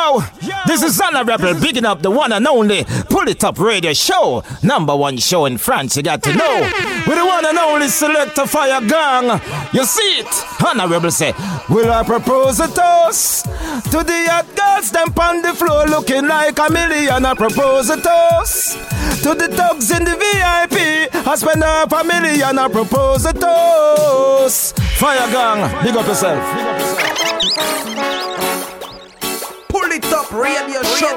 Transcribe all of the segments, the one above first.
Yo, this is Honorable bigging up the one and only Pull It Up Radio Show. Number one show in France, you got to know. With the one and only Selector Fire Gang. You see it? Honorable say, will I propose a toast to the hot girls, them on the floor looking like a million. I propose a toast to the thugs in the VIP. I spend half a million. I propose a toast. Fire Gang, big up yourself. Pull it up, radio show.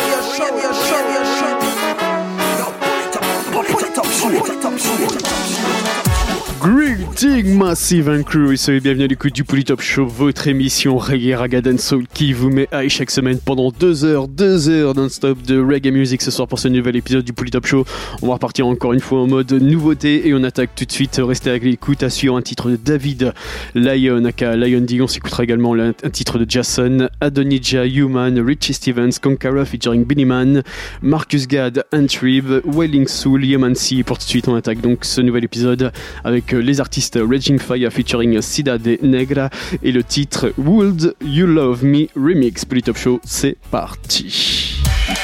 Greeting Massive and Crew et soyez bienvenus à l'écoute du Pull It Up Show, votre émission Reggae, Raga, Dancehall qui vous met high chaque semaine pendant 2 heures non-stop de reggae music. Ce soir pour ce nouvel épisode du Pull It Up Show, on va repartir encore une fois en mode nouveauté et on attaque tout de suite. Restez avec l'écoute à suivre un titre de David Lyon aka Lion D. On s'écoutera également un titre de Jason, Adonija, Human, Richie Stevens, Konkara featuring Billy Man, Marcus Gad, Antrib, Wailing Soul, Yemansi. Pour tout de suite on attaque donc ce nouvel épisode avec les artistes Raging Fire featuring Sida de Negra et le titre Would You Love Me Remix. Pull It Up Show, c'est parti.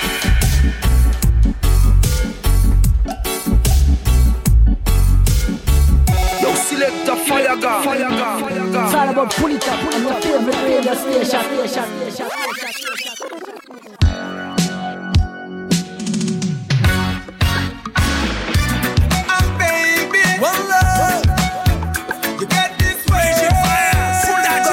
Selector Fire Gang. It's all about Pull It Up on your favorite radio station. And baby, one love, you get this way. Pull that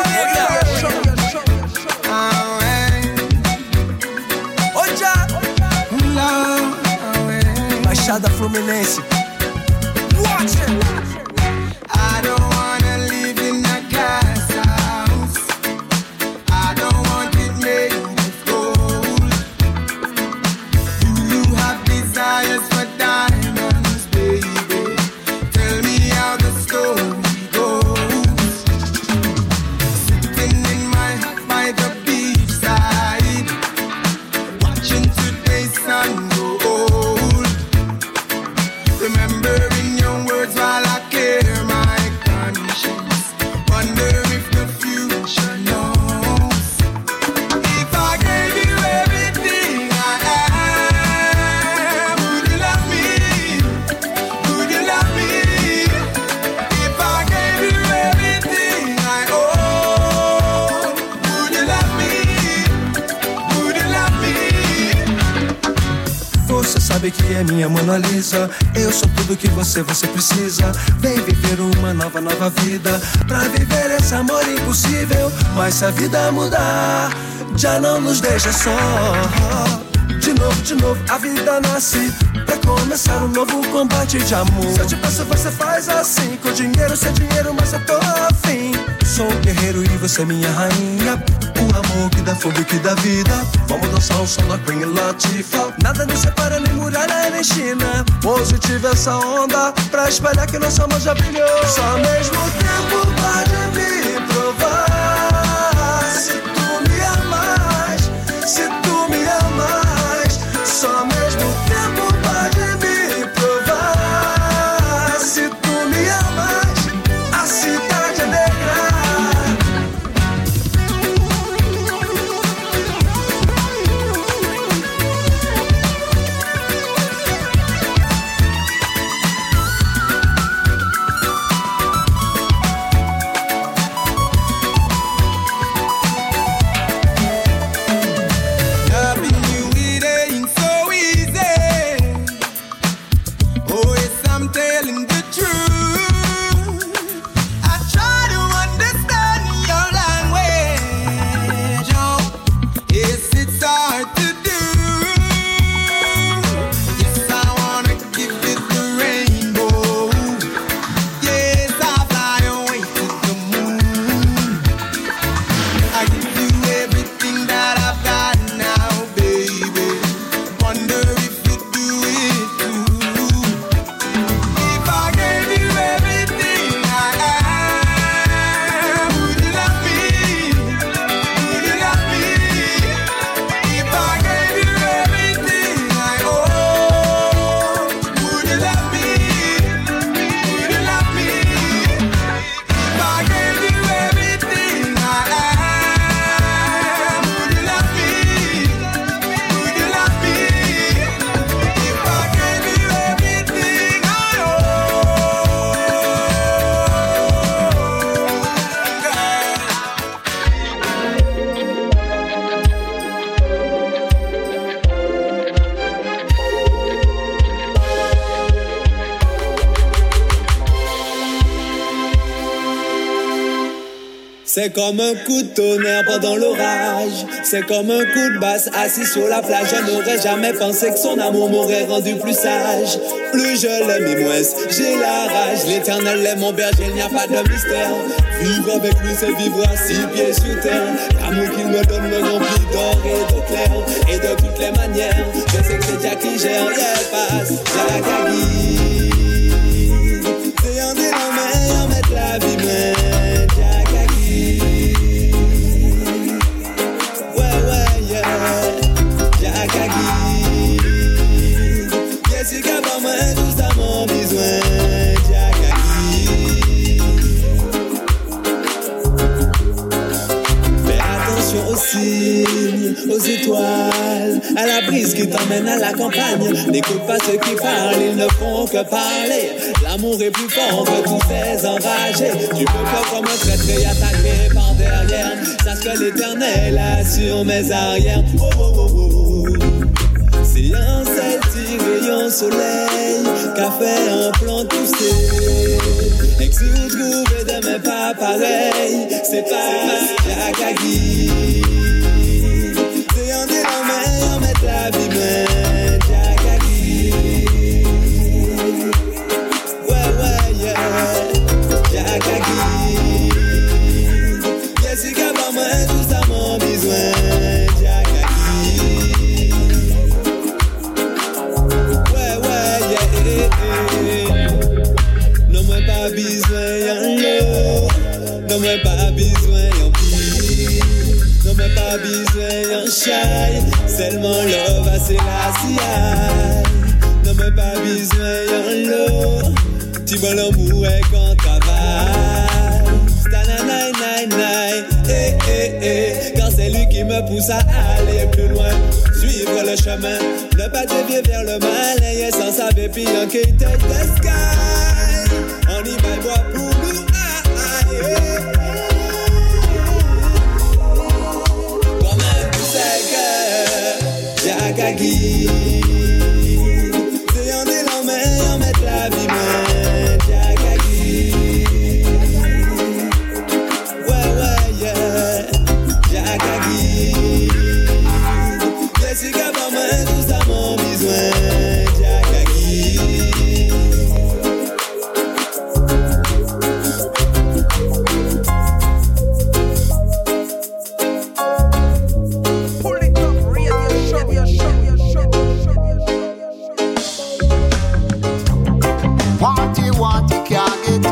together. Baixada Fluminense. Watch it. I don't wanna live in a glass house. I don't want it made of gold. Do you have desires for diamonds, baby? Tell me how the story goes. Sitting in my hut by the beachside, watching today's sun go old. Remembering your words while I care my conscience. Wonder if the future knows. If I gave you everything I am, would you love me? Would you love me? If I gave you everything I own, would you love me? Would you love me? Você sabe que é minha Mona Lisa. Eu sou tudo que você precisa. Vem viver uma nova vida. Pra viver esse amor impossível. Mas se a vida mudar, já não nos deixa só. De novo, a vida nasce pra começar um novo combate de amor. Se eu te peço, você faz assim. Com dinheiro, sem dinheiro, mas eu tô afim. Sou um guerreiro e você é minha rainha. O amor que dá fogo e que dá vida. Vamos dançar o som da Queen Latifah. Nada nos separa, nem muralha, nem China. Positiva essa onda pra espalhar que nosso amor já brilhou. Só ao mesmo tempo pode me provar. Se tu me amas, se tu me amas. Só ao mesmo tempo pode me provar. Se tu me amas, a cidade é negra. C'est comme un coup de tonnerre pendant l'orage. C'est comme un coup de basse assis sur la plage. Je n'aurais jamais pensé que son amour m'aurait rendu plus sage. Plus je l'aime et moins j'ai la rage. L'éternel est mon berger, il n'y a pas de mystère. Vivre avec lui c'est vivre à 6 pieds sur terre. L'amour qu'il me donne me remplit d'or et d'eau claire. Et de toutes les manières, je sais que c'est Jack qui gère. Yeah, passe, Jack à guide. C'est un des mains, en mettre la vie main. Jack à guide. Ouais, yeah. Jack à guide. Yes, you got my main, tout ça mon besoin. Jack à guide. Fais attention aux signes, aux étoiles, à la brise qui t'emmène à la campagne. N'écoute pas ceux qui parlent, ils ne font que parler. L'amour est plus fort que tous ces enragés. Tu peux faire comme un traître et attaquer par derrière. Sache que l'éternel assure mes arrières. Oh, oh, oh, oh. C'est un celtique rayon soleil qu'a fait un plan tousser. Et que si vous trouvez demain pas pareil, c'est pas Jack à guide. C'est un des mains, en mettre la vie main. Jack à guide. Ouais, yeah. Jack à guide. Yes, you got my main, tout ça mon besoin. Jack à guide. Ouais, yeah. Non, moi pas besoin y'en l'eau. Non, moi pas besoin y'en pire. Non, moi pas besoin y'en shy. Seulement love, c'est la CI. Non, moi pas besoin y'en l'eau. Tu vois l'amour est qu'on travaille. Stananaï, car c'est lui qui me pousse à aller plus loin. Suivre le chemin, ne pas dévier vers le mal. Et sans savoir puis en qui take the sky. On y va boire pour nous. Quand même tu sais que Jack à guide. C'est en des mains, en mettre la vie main. Jack à guide. Ouais, yeah. Jack à guide. Yes, you got my main, tout ça mon besoin. Jack à guide. Want it, can't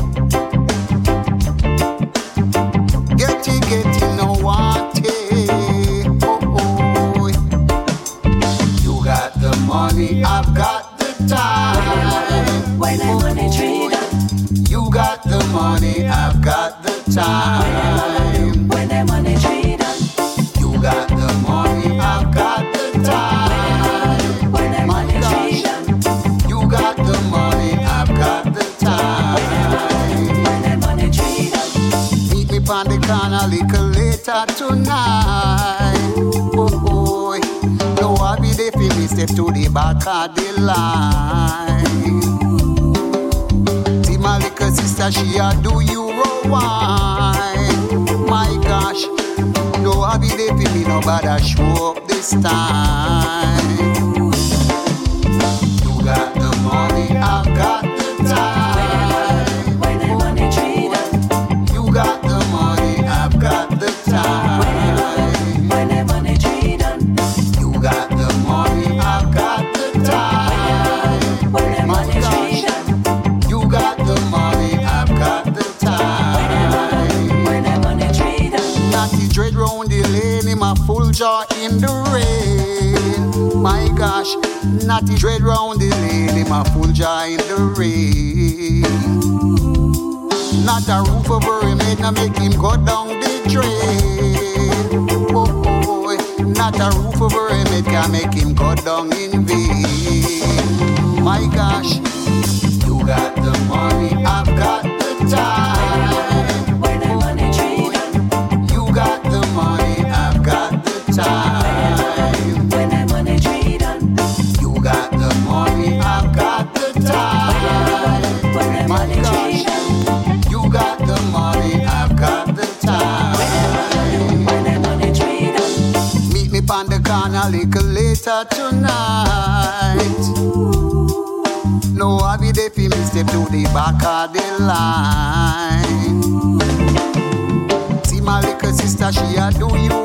get it. Get it, no want it. Oh. You got the money, I've got the time. When the money treat. You got the money, I've got the time. When the money treat. You got the money, I've got the time. When the money treat. You got the money, I've got the time. When the money treat. Meet me on the corner a little later tonight. Oh. No, I'll be there for me, step to the back of the line. See my little sister, she a do you wine. My gosh, no, I'll be there for me, nobody show up this time. You got the money, I've got the time. When the money treat. You got the money, I've got the time. When the money treat. You got the money, I've got the time. When the My money gosh, treat. you got the money, I've got the time. When the money treat. Natty dread round the lane, him a full jaw in the rain. My gosh, Natty dread round the lane, him a full jaw in the rain. Not a roof over him head, no make him go down the drain. Oh, not a roof over him head can make him go down in vain. My gosh, you got the money, I've got the time. When the money treat. You got the money, I've got the time. When the money treat. You got the money, I've got the time. When the My money gosh, treat. you got the money, I've got the time. sleep on the corner a little later tonight. No, I be there for me step to the back of the line. See my little sister, she a do you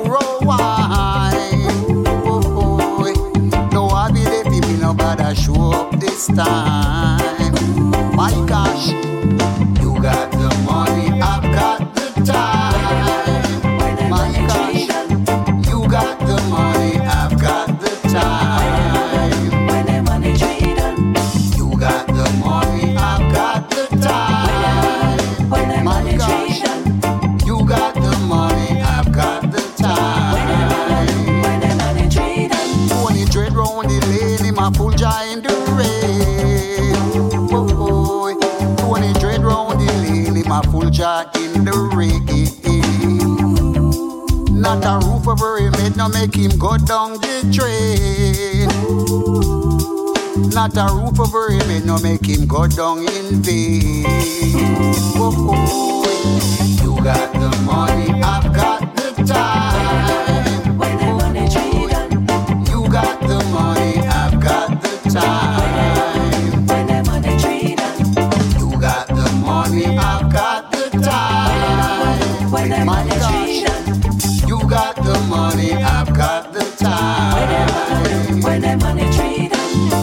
wine. Oh, no, I be there for me, nobody show up this time. My gosh, you got the money, I've got the time. My gosh, you got the money, I've got the time. When the money treated, You got the money, I've got the time. when the My money gosh, treated, you got the money, I've got the time. when the money treated, Tony dread round the lane, him a full giant in the rain. Oh, Tony dread round the lane, him a full giant in the rain. Not a roof over him head, no make him go down the drain. Not a roof over him head, no make him go down in vain. Oh, you got the money, I've got the time. when the money treated, You got the money, I've got the time. when the money treated, You got the money, I've got the time. when the My money gosh, treated, you got the money, I've got the time. when the money treated.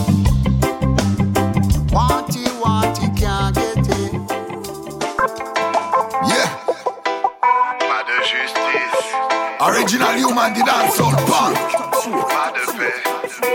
Want it, can't get it. Yeah. Pas de justice. Original Human the dancehall punk. Pas de paix.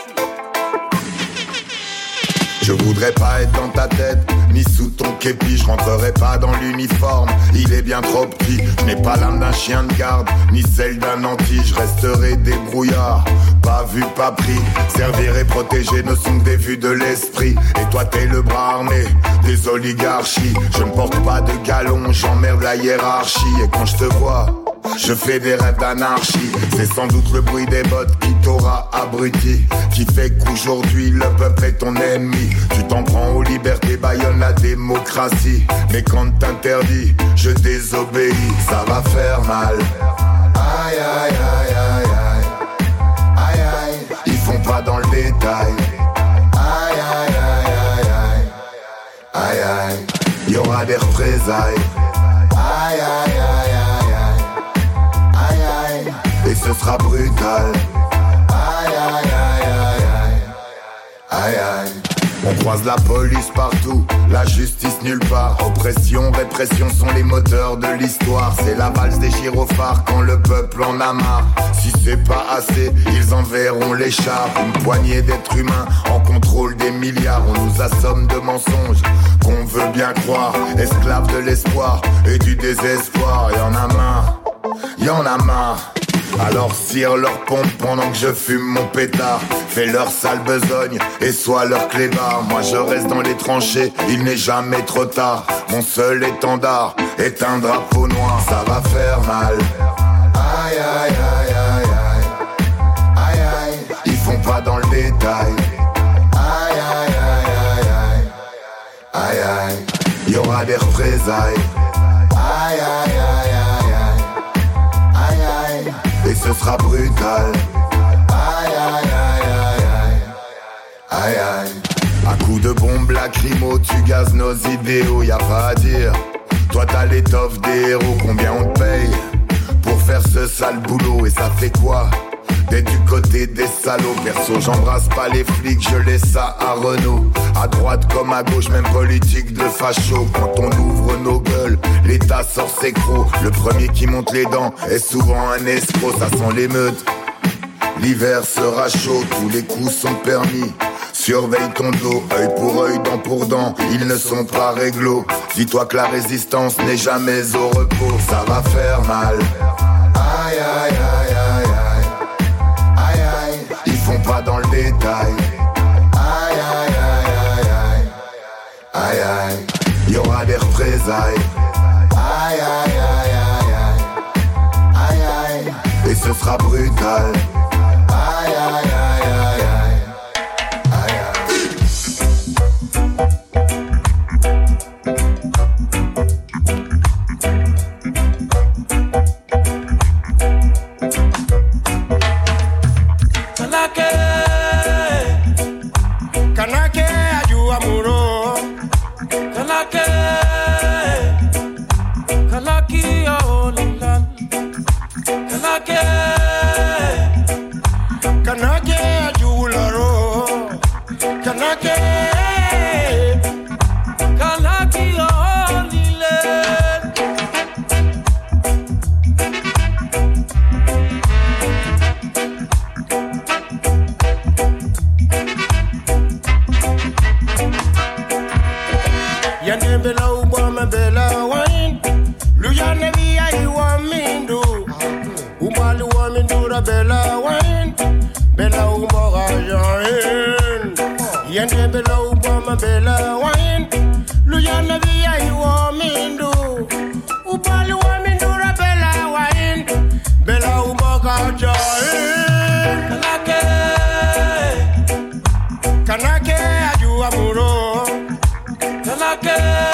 Je voudrais pas être dans ta tête, ni sous ton képi. Je rentrerai pas dans l'uniforme, il est bien trop petit. Je n'ai pas l'âme d'un chien de garde, ni celle d'un anti. Je resterai débrouillard, pas vu, pas pris. Servir et protéger ne sont que des vues de l'esprit. Et toi t'es le bras armé des oligarchies. Je ne porte pas de galon, j'emmerde la hiérarchie. Et quand je te vois, je fais des rêves d'anarchie. C'est sans doute le bruit des bottes qui t'aura abruti, qui fait qu'aujourd'hui le peuple est ton ennemi. Tu t'en prends aux libertés, bâillonne la démocratie. Mais quand t'interdis, je désobéis. Ça va faire mal. Aïe aïe aïe aïe aïe. Aïe aïe, ils font pas dans le détail. Aïe aïe aïe aïe aïe. Aïe aïe, y'aura des représailles. Aïe aïe aïe aïe aïe. Aïe aïe, et ce sera brutal. Aïe aïe aïe aïe aïe. Aïe aïe. On croise la police partout, la justice nulle part. Oppression, répression sont les moteurs de l'histoire. C'est la valse des gyrophares quand le peuple en a marre. Si c'est pas assez, ils enverront les chars. Une poignée d'êtres humains en contrôle des milliards. On nous assomme de mensonges qu'on veut bien croire. Esclaves de l'espoir et du désespoir. Y'en a marre, y'en a marre. Alors cire leur pompe pendant que je fume mon pétard. Fais leur sale besogne et sois leur clébard. Moi je reste dans les tranchées, il n'est jamais trop tard. Mon seul étendard est un drapeau noir. Ça va faire mal. Aïe aïe aïe aïe aïe. Aïe aïe, ils font pas dans le détail. Aïe aïe aïe aïe aïe. Aïe aïe, y'aura des représailles. Aïe aïe aïe aïe aïe. Aïe aïe, et ce sera brutal. Aïe aïe aïe aïe aïe. Aïe aïe. À coups de bombes lacrymo, tu gazes nos idéaux, y a pas à dire. Toi t'as l'étoffe des héros, combien on te paye pour faire ce sale boulot? Et ça fait quoi d'être du côté des salauds? Perso j'embrasse pas les flics, je laisse ça à Renault. À droite comme à gauche, même politique de facho. Quand on ouvre nos gueules, l'État sort ses crocs. Le premier qui monte les dents est souvent un escroc. Ça sent l'émeute, l'hiver sera chaud, tous les coups sont permis. Surveille ton dos, œil pour œil, dent pour dent, ils ne sont pas réglo. Dis-toi que la résistance n'est jamais au repos. Ça va faire mal. Aïe aïe aïe aïe aïe. Aïe aïe, ils font pas dans le détail. Aïe aïe aïe aïe aïe. Aïe aïe, y'aura des représailles. Aïe aïe aïe aïe aïe. Aïe aïe, et ce sera brutal. Aïe aïe aïe aïe aïe. Kanake aju amuro. Kanake Olilan. Kanake aju laro. Kanake Olilan. Yande bela ubama bela wine. Luyane via you want me do. Umali want me do the bela wine. Bela umara join. Yande bela ubama bela wine. Luyane via you want me do. Umali want me do the bela wine. Bela umara join. Kanake aju amuro. Kanake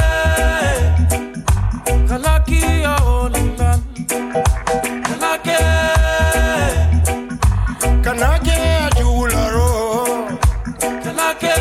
Olilan. Kanake aju laro. Kanake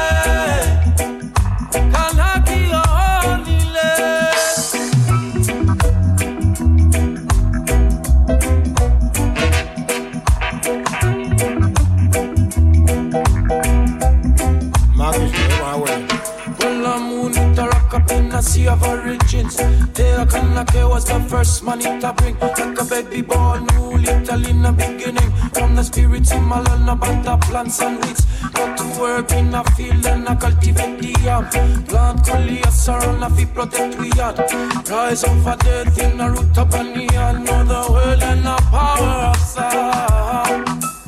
A sea of origins. There Kanake was the first man it to bring. Like a baby born new little in the beginning. From the spirits in Malana about the plants and weeds. Got to work in a field and I cultivate the yam. Plant coleus around a feet protect we yard. Rise over death in a root up and the yard. Know the world and the power of sound.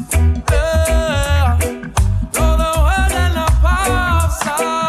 Know the world and the power of sound.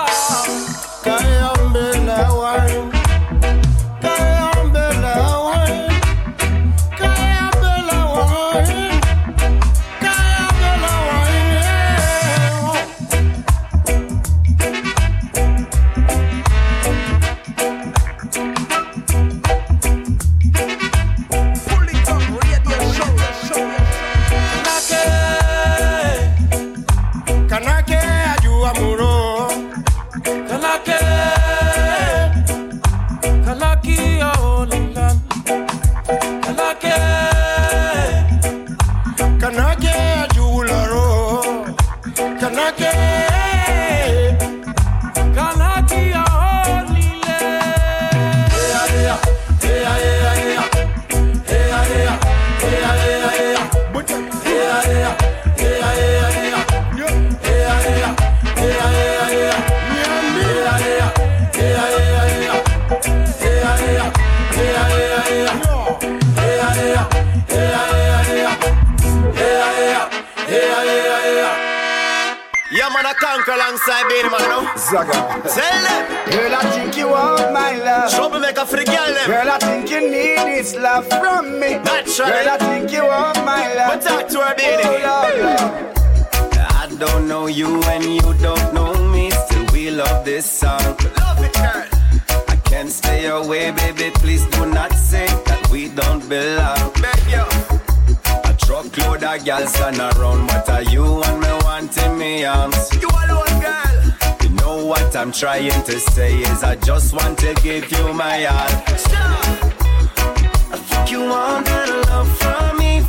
Alongside Beenie Man, no? Zaga. Tell them. Girl, I think you want my love. Troublemaker for the girl, them. Girl, I think you need this love from me. Naturally. Girl, I think you want my love. But talk to her, Beenie. Oh, Lord. I don't know you and you don't know me. Still we love this song. Love it, girl. I can't stay away, baby. Please do not say that we don't belong. Beg you. Truckload of girls stand around. What are you and me wanting me arms? You alone, girl. You know what I'm trying to say is I just want to give you my all. Stop. I think you want that love from me,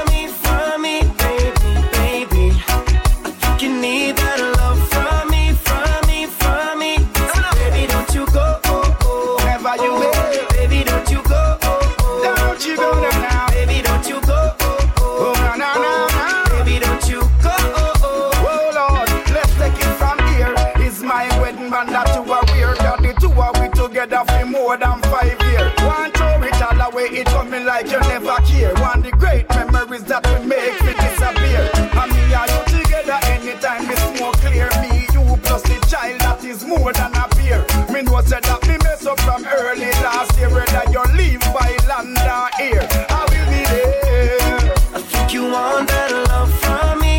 baby, baby. I think you need that love from me, So baby, don't you go, Never you will. Baby, don't you go, Don't you go now. Baby, don't you go, Oh, no. Baby, don't you go, Oh, Lord, let's take it from here. It's my wedding band that you are weird. That the two are we together for more than 5 years. One throw it all away, it coming like you never care. One the great memories that we make me disappear. And me and you together anytime we smoke clear. Me, you plus the child that is more than a peer. Me know said that me mess up from early last year. Whether you leave by land or here, I will be there. I think you want that love from me,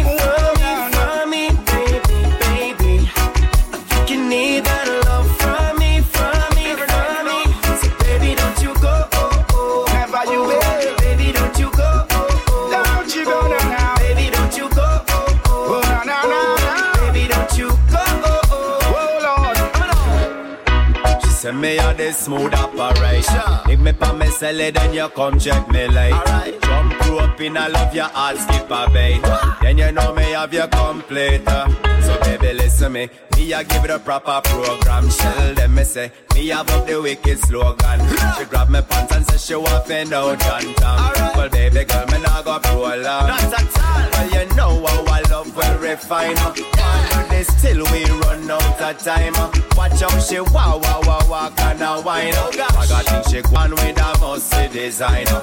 baby, baby. I think you need that love from me, So baby, don't you go, Never you will. Baby, don't you go, say me a this smooth operation. If me pa me sell it, then you come check me like. Jump crew up in I love your all skip a bait. Then you know me have your complete. So baby listen me a give it a proper program. Shell them me say, me have up the wicked slogan. She grab me pants and say she want to know John Tom. Well baby girl, me nah go pro long. Not at all. Well you know our love will refine. One day still we run out of time. Watch how she walk and a wine. I got think she gone with a musty designer.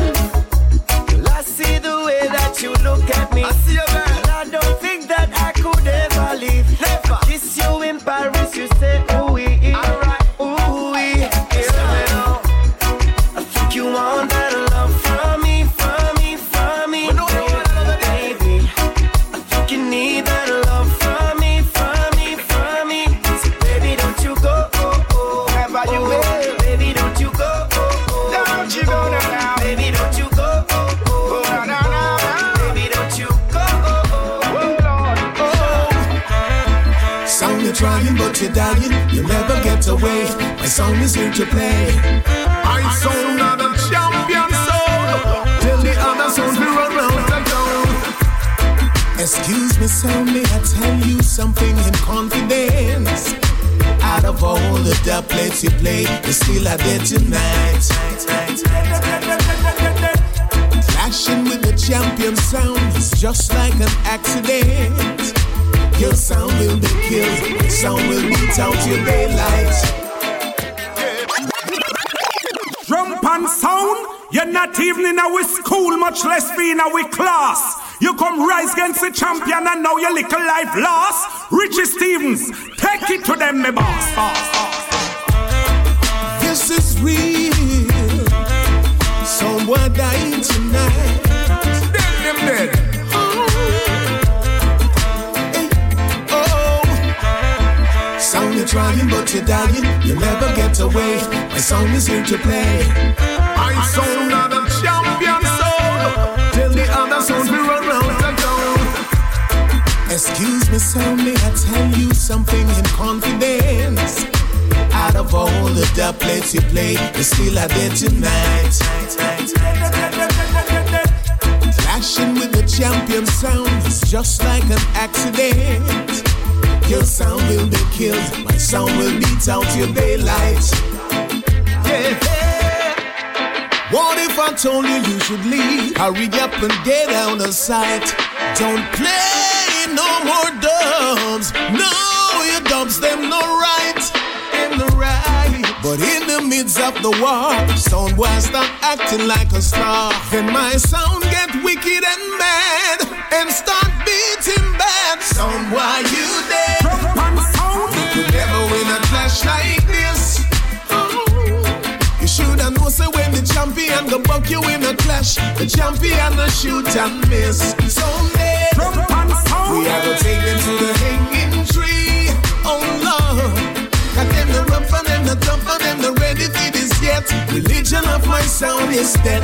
I see the way that you look at me. I see you, girl. And I don't think that I could ever leave. Never. Kiss you in Paris, you say ooh wee. Alright, ooh wee. Yeah. I think you want that love from me, from me, from me. Baby, I think you need that love from me, from me, from me. So baby, don't you go, never you will. Baby, don't you go, don't you go now. Baby, don't you go. You're trying but you're dying, you'll never get away. My song is here to play. I sound not a champion soul. Till the other souls will run round the town. Excuse me, so may I tell you something in confidence? Out of all the doublets you play, you still are there tonight. Clashing with the champion sound is just like an accident. Your sound will be killed, sound will beat out your daylight. Drum and sound, you're not even in our school, much less be in our class. You come rise against the champion and now your little life lost. Richie Stevens, take it to them, me boss. This is real, someone dying tonight. Dead, them dead. Sound you're trying but you're dying, you'll never get away. My song is here to play. I sound not a champion soul. Till the other souls will run round the town. Excuse me, so may I tell you something in confidence? Out of all the doublets you play, you still are there tonight. Clashing with the champion sound is just like an accident. Your sound will be killed, my sound will beat out your daylight. Yeah. What if I told you you should leave? Hurry up and get out of sight. Don't play no more dubs. No, your dubs them no right, them no right. But in the midst of the war, sound boy start acting like a star. Then my sound get wicked and mad and start beating bad. Sound boy you dead. You could never win a clash like this. You shoulda know say when the champion go buck you in a clash, the champion go shoot and miss. Someday we are gonna take them to the hanging tree. Oh Lord, got them the rough and them the tough and them the ready for this yet. Religion of my sound is dead.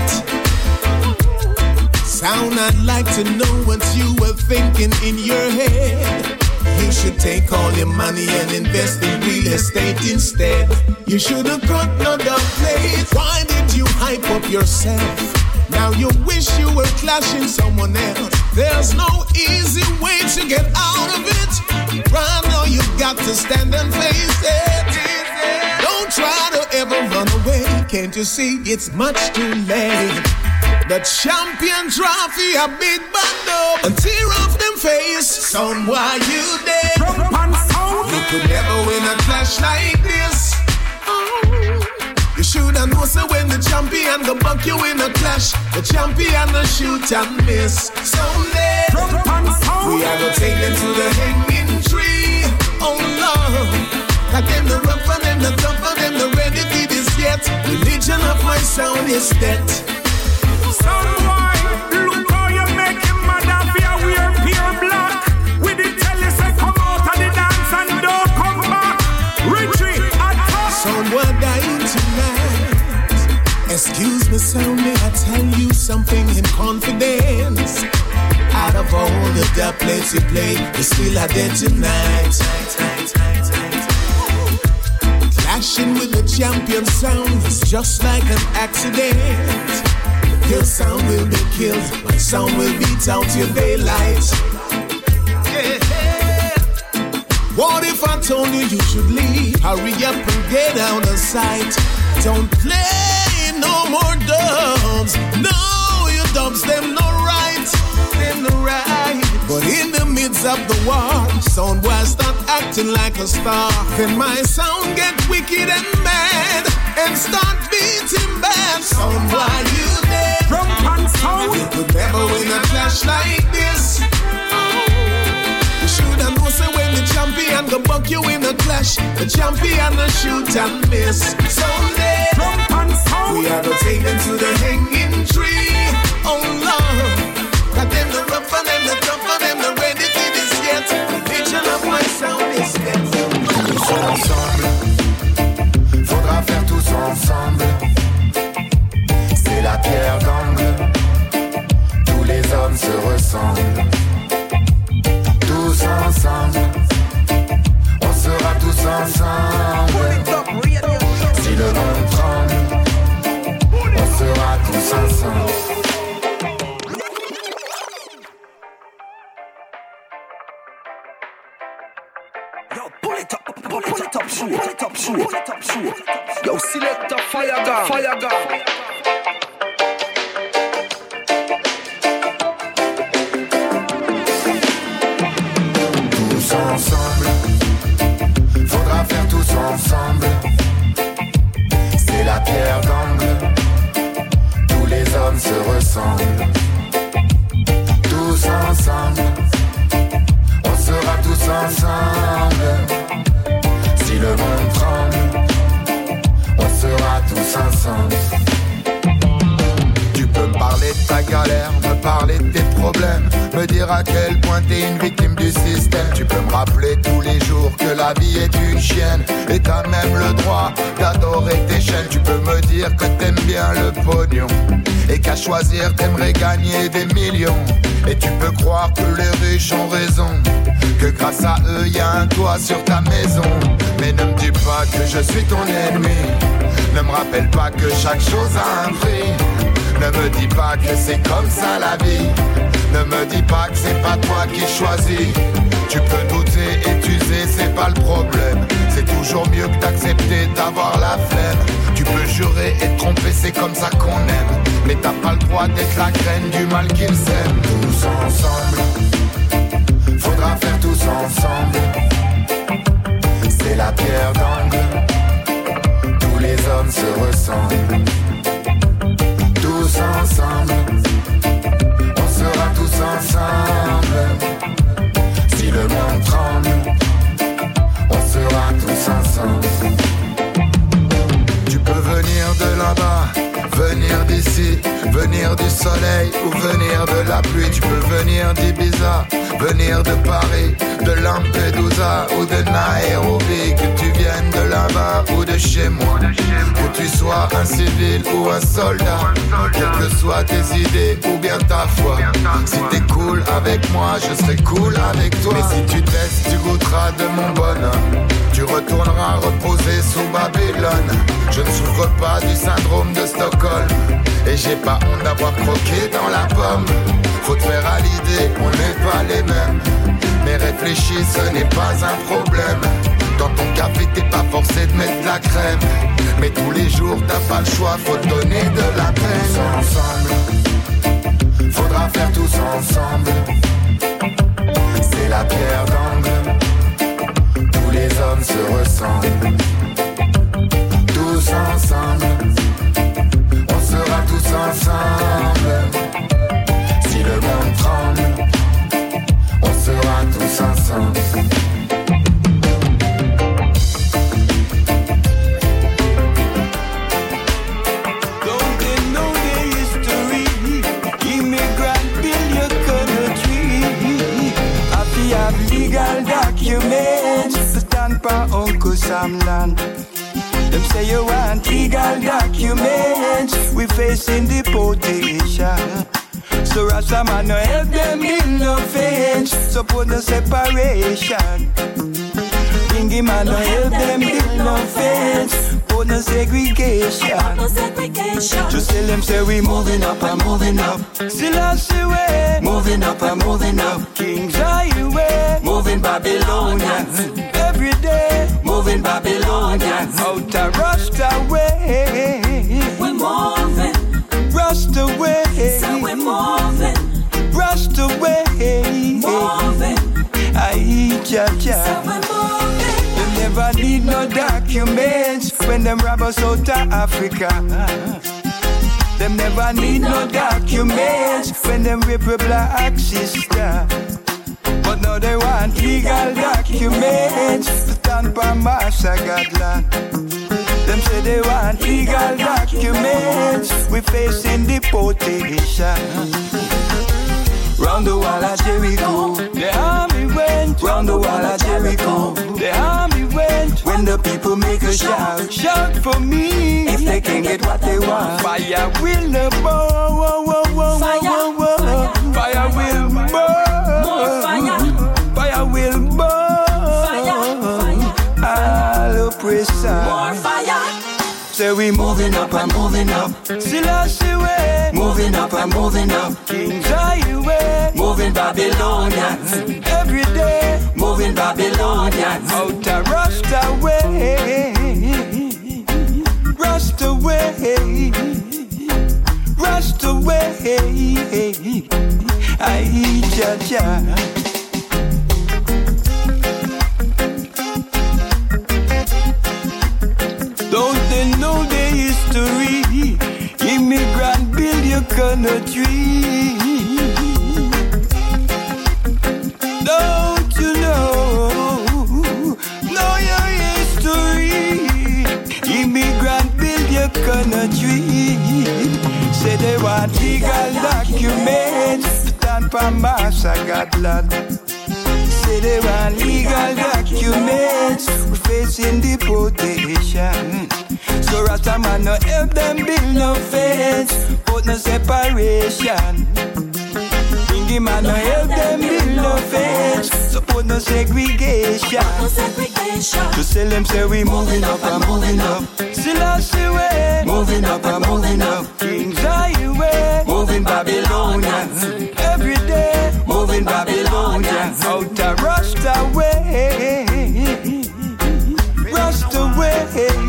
Sound, I'd like to know what you were thinking in your head. You should take all your money and invest in real estate instead. You should have got another place. Why did you hype up yourself? Now you wish you were clashing someone else. There's no easy way to get out of it. Right now you've got to stand and face it. Don't try to ever run away. Can't you see it's much too late? The champion trophy, a big bundle, and tear off them face. Sound why you dead. You could never win a clash like this. You shoulda know so when the champion go buck you in a clash, the champion go shoot and miss. Someday we are gonna take them to the hanging tree. Oh Lord, got them the rough and them the tough and them the ready for this yet. Religion of my sound is dead. Someone, look how you make him mad of your wear pure black. With the telly say come out of the dance and don't come back. Richie, attack. Someone dying tonight. Excuse me, so may I tell you something in confidence? Out of all the doublets you play, you still are there tonight. Clashing with the champion sound is just like an accident. Your sound will be killed, my sound will beat out your daylight. Yeah. What if I told you you should leave? Hurry up and get out of sight. Don't play no more dubs. No, your dubs, them no right. Them no right. But in the midst of the war, sound boy start acting like a star. Then my sound get wicked and mad and start beating back. Sound boy, you dead. Drum and sound. You could never win a clash like this. You shoulda know say when the champion go buck you in a clash, the champion will shoot and miss. Someday, drum and sound. We are gonna take them to the hanging tree. Oh Lord, got them the rough and them the tough and them the ready for this yet. The vision of my sound is dead. Tous ensemble, faudra faire tous ensemble. C'est la pierre d'angle, tous les hommes se ressemblent. Tous ensemble, on sera tous ensemble. Si le monde tremble, on sera tous ensemble. Pull it up, shoot. Yo, select the fire gun. Tous ensemble, faudra faire tous ensemble. C'est la pierre d'angle, tous les hommes se ressemblent. Tous ensemble, on sera tous ensemble. Si le monde tremble, on sera tous ensemble. Tu peux me parler de ta galère, me parler de tes problèmes, me dire à quel point t'es une victime du système. Tu peux me rappeler tous les jours que la vie est une chienne et t'as même le droit d'adorer tes chaînes. Tu peux me dire que t'aimes bien le pognon et qu'à choisir t'aimerais gagner des millions. Et tu peux croire que les riches ont raison, que grâce à eux y a un toit sur ta maison. Mais ne me dis pas que je suis ton ennemi, ne me rappelle pas que chaque chose a un prix. Ne me dis pas que c'est comme ça la vie, ne me dis pas que c'est pas toi qui choisis. Tu peux douter et t'user, c'est pas le problème. C'est toujours mieux que d'accepter d'avoir la flemme. Tu peux jurer et te tromper, c'est comme ça qu'on aime. Mais t'as pas le droit d'être la graine du mal qu'ils sèment. Tous ensemble, faudra faire tous ensemble. C'est la pierre d'angle, tous les hommes se ressemblent. Tous ensemble, on sera tous ensemble. Si le monde tremble, on sera tous ensemble. Tu peux venir de là-bas, venir d'ici, venir du soleil ou venir de la pluie. Tu peux venir d'Ibiza, venir de Paris, de Lampedusa ou de Nairobi. Que tu viennes de là-bas ou de chez moi, que tu sois un civil ou un soldat, quelles que soient tes idées ou bien ta foi. Si t'es cool avec moi, je serai cool avec toi. Mais si tu testes, tu goûteras de mon bonheur. Tu retourneras reposer sous Babylone. Je ne souffre pas du syndrome de Stockholm et j'ai pas honte d'avoir croqué dans la pomme. Faut te faire à l'idée, on n'est pas les mêmes. Mais réfléchis, ce n'est pas un problème. Dans ton café, t'es pas forcé de mettre de la crème. Mais tous les jours, t'as pas le choix, faut te donner de la peine. Tous ensemble, faudra faire tous ensemble. C'est la pierre d'angle, tous les hommes se ressemblent. Tous ensemble, on sera tous ensemble. Si le monde tremble, on sera tous ensemble. Legal documents to stand for Uncle Sam land. Them say you want legal documents. We facing deportation. So Rasta man no help them in no fence. Support the separation. Thingy man no help them build no fence. Put no segregation. Just tell them say we moving up and moving up. Still I see way. Moving up and moving up. Kings Highway. Moving Babylonians. Every day. Moving Babylonians. Out of Rasta way. We're moving. Rasta way. So we're moving. Rasta way. Moving. I cha-cha. So we're moving. They never need no documents when them rob us out of Africa. Them never need no documents when them rape a black sister. But now they want legal documents to stand for Massacadland. Them say they want legal documents. We facing deportation. Round the wall of Jericho, the army went. Round the wall of Jericho, the army went. When the people make a shout, shout for me. If they can get what they want, fire will burn. Fire will burn. More fire. Fire will burn. All oppressor. More fire. Say we moving up and moving up. Still I see way. Moving up and moving up. Kings Highway. Moving Babylonians. Every day. Moving Babylonians. Out of Rasta way. Rasta way. Rasta way. I cha-cha. Don't they know the history? Immigrant build your country. Don't you know your history? Immigrant build your country. Say they want legal documents to stand for Massacadland. Say they want legal documents. We're facing deportation. So Rasta man no help them build no fence. Put no separation. Bingy man no help them build no fence. So put no segregation. Just tell them say we moving up and moving up. Still I see way. Moving up and moving up. Kings Highway. Moving Babylonians. Every day. Moving Babylonians. Out of Rasta way. Rasta way.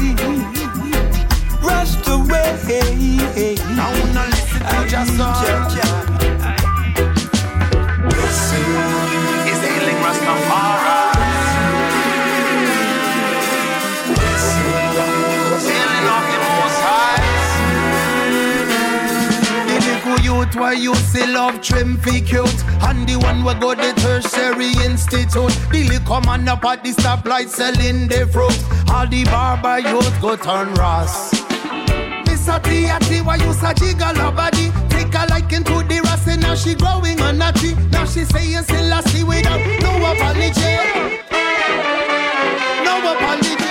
Rasta way. Now no listen to just is the healing Rastafari. Healing of the Most High. The little youth why you still love trim fi cute. And the one we go the tertiary institute. The little man up at the stoplight selling the fruit. All the barber youth go turn Ras. Mr. T.A.T. why you sa jiggle her body. Take a liking to the Rasta. Now she growing on a tree. Now she saying still I see without no apology. No apology.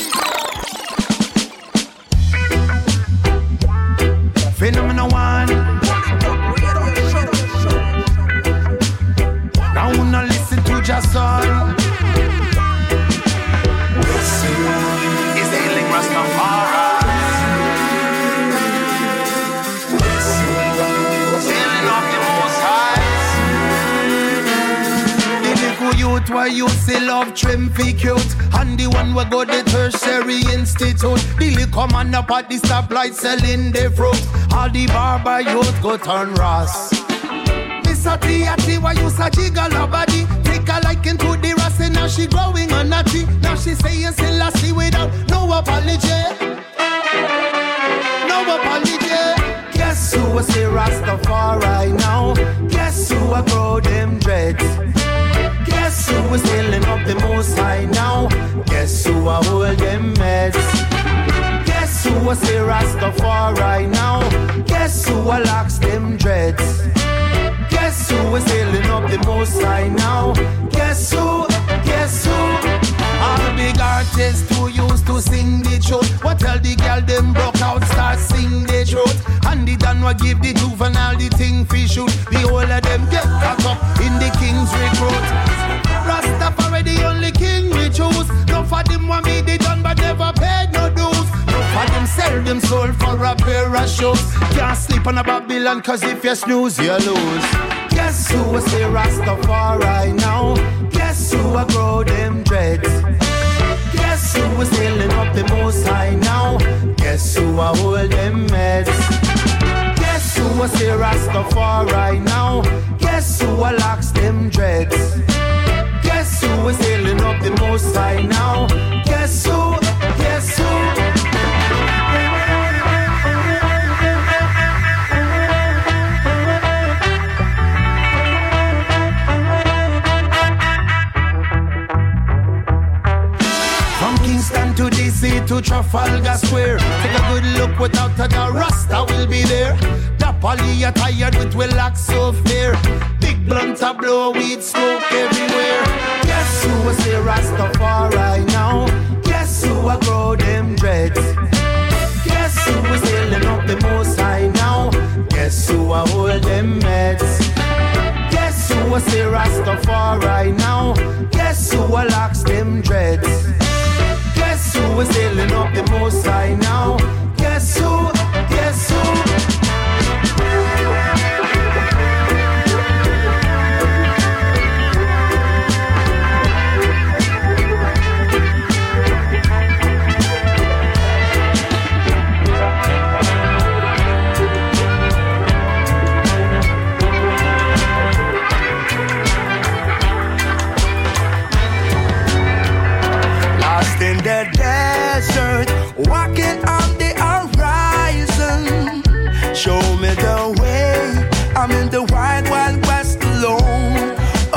Phenomenal one. Now no listen to just son. Is the healing Rastafari. Healing of the Most High. The little youth why you still love trim fi cute. And the one we go the tertiary institute. The little man up at the stoplight selling the fruit. All the barber youth go turn Ras. Mr. T.A.T. why you sa jiggle her body. Take a liking to the Rasta. Now she growing on a tree. Now she saying still I see without no apology. No apology. Guess who was the Rastafari now? Guess who I grow them dreads? Guess who was healing up the Most High now? Guess who I hold them meds? Guess who was the Rastafari now? Guess who I locks them dreads? Guess who is healing up the Most High now? Guess who? Guess who? All big artists who used to sing the truth. What tell the girl them broke out, start sing the truth. And the Dan will give the juvenile the thing fi shoot. The whole of them get caught up in the king's recruit. Rastafari the only king we choose. never paid no dues. No for them sell them soul for a pair of shoes. Can't sleep on a Babylon, cause if you snooze, you lose. Guess who will say Rastafari now? Guess who will grow them dreads? Guess who was sailing up the Most High now? Guess who will hold them meds? Guess who will say Rastafari now? Guess who will locks them dreads? Guess who was sailing up the Most High now? Guess who? Guess who? To DC to Trafalgar Square. Take a good look without the Rasta will be there. The poly are tired with relax so fair. Big blunt a blow weed smoke everywhere. Guess who will say Rastafari now? Guess who will grow them dreads? Guess who is sailing up the Most High now? Guess who will hold them meds? Guess who will say Rastafari now? Guess who will locks them dreads? Guess who is sailing up the Most High now? Guess who? Guess who? In the desert, walking on the horizon. Show me the way. I'm in the wide, wild west alone.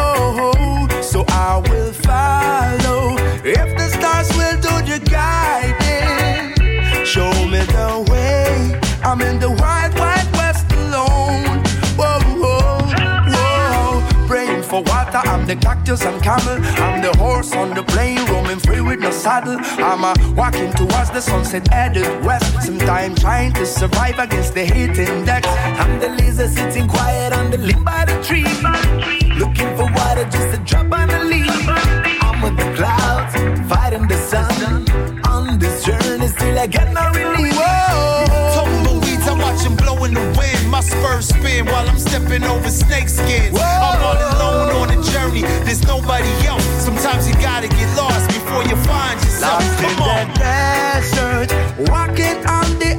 Oh, so I will follow. If the stars will do the guiding, show me the way. I'm in the wide, wild west alone. Whoa, whoa, whoa. Praying for water, I'm the cactus and camel. I'm the horse on the plain, roaming free with no saddle. I'm walking towards the sunset headed west. Sometime trying to survive against the heat index. I'm the lizard sitting quiet on the limb by the tree, looking for water just to drop on the leaf. I'm with the clouds, fighting the sun. On this journey still I get no relief. Tumbleweeds, I watch them blow in the wind. My spurs spin while I'm stepping over snake skins. I'm all alone on the journey, there's nobody else. Sometimes you gotta get lost before you find yourself. Lost in the desert, walking on the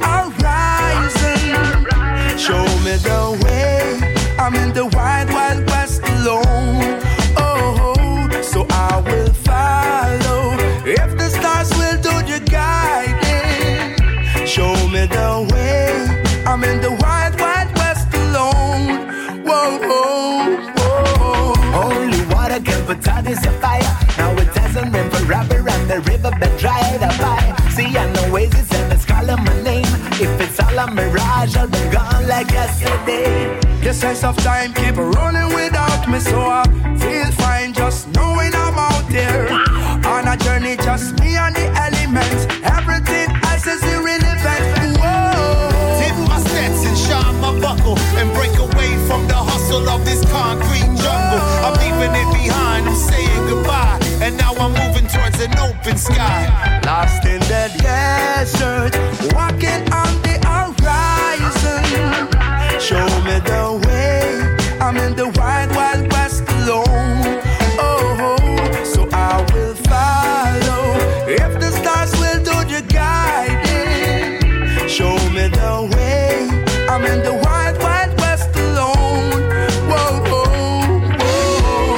horizon. Show me the way. I'm in the wide, wild west alone. Oh, so I will follow. If the stars will do the guiding, show me the way. I'm in the wide, wild west alone. Whoa, whoa, whoa. Only water can put out this fire. Now it doesn't rain forever and the riverbed dried up by. See, I know oasis and it's calling my name. If it's all a mirage, I'll be gone like yesterday. The sense of time keep running without me, so I feel fine just knowing I'm out there. On a journey, just me and the elements. Everything else is irrelevant. Whoa. Tip my steps and shine my buckle and break away from the hustle of this concrete jungle. I'm leaving it behind, I'm saying goodbye. And now I'm moving towards an open sky. Lost in the desert, walking on the horizon. Show me the way. I'm in the wide, wild west alone. Oh, so I will follow. If the stars will do the guiding, show me the way. I'm in the wide, wild west alone. Whoa, whoa, whoa.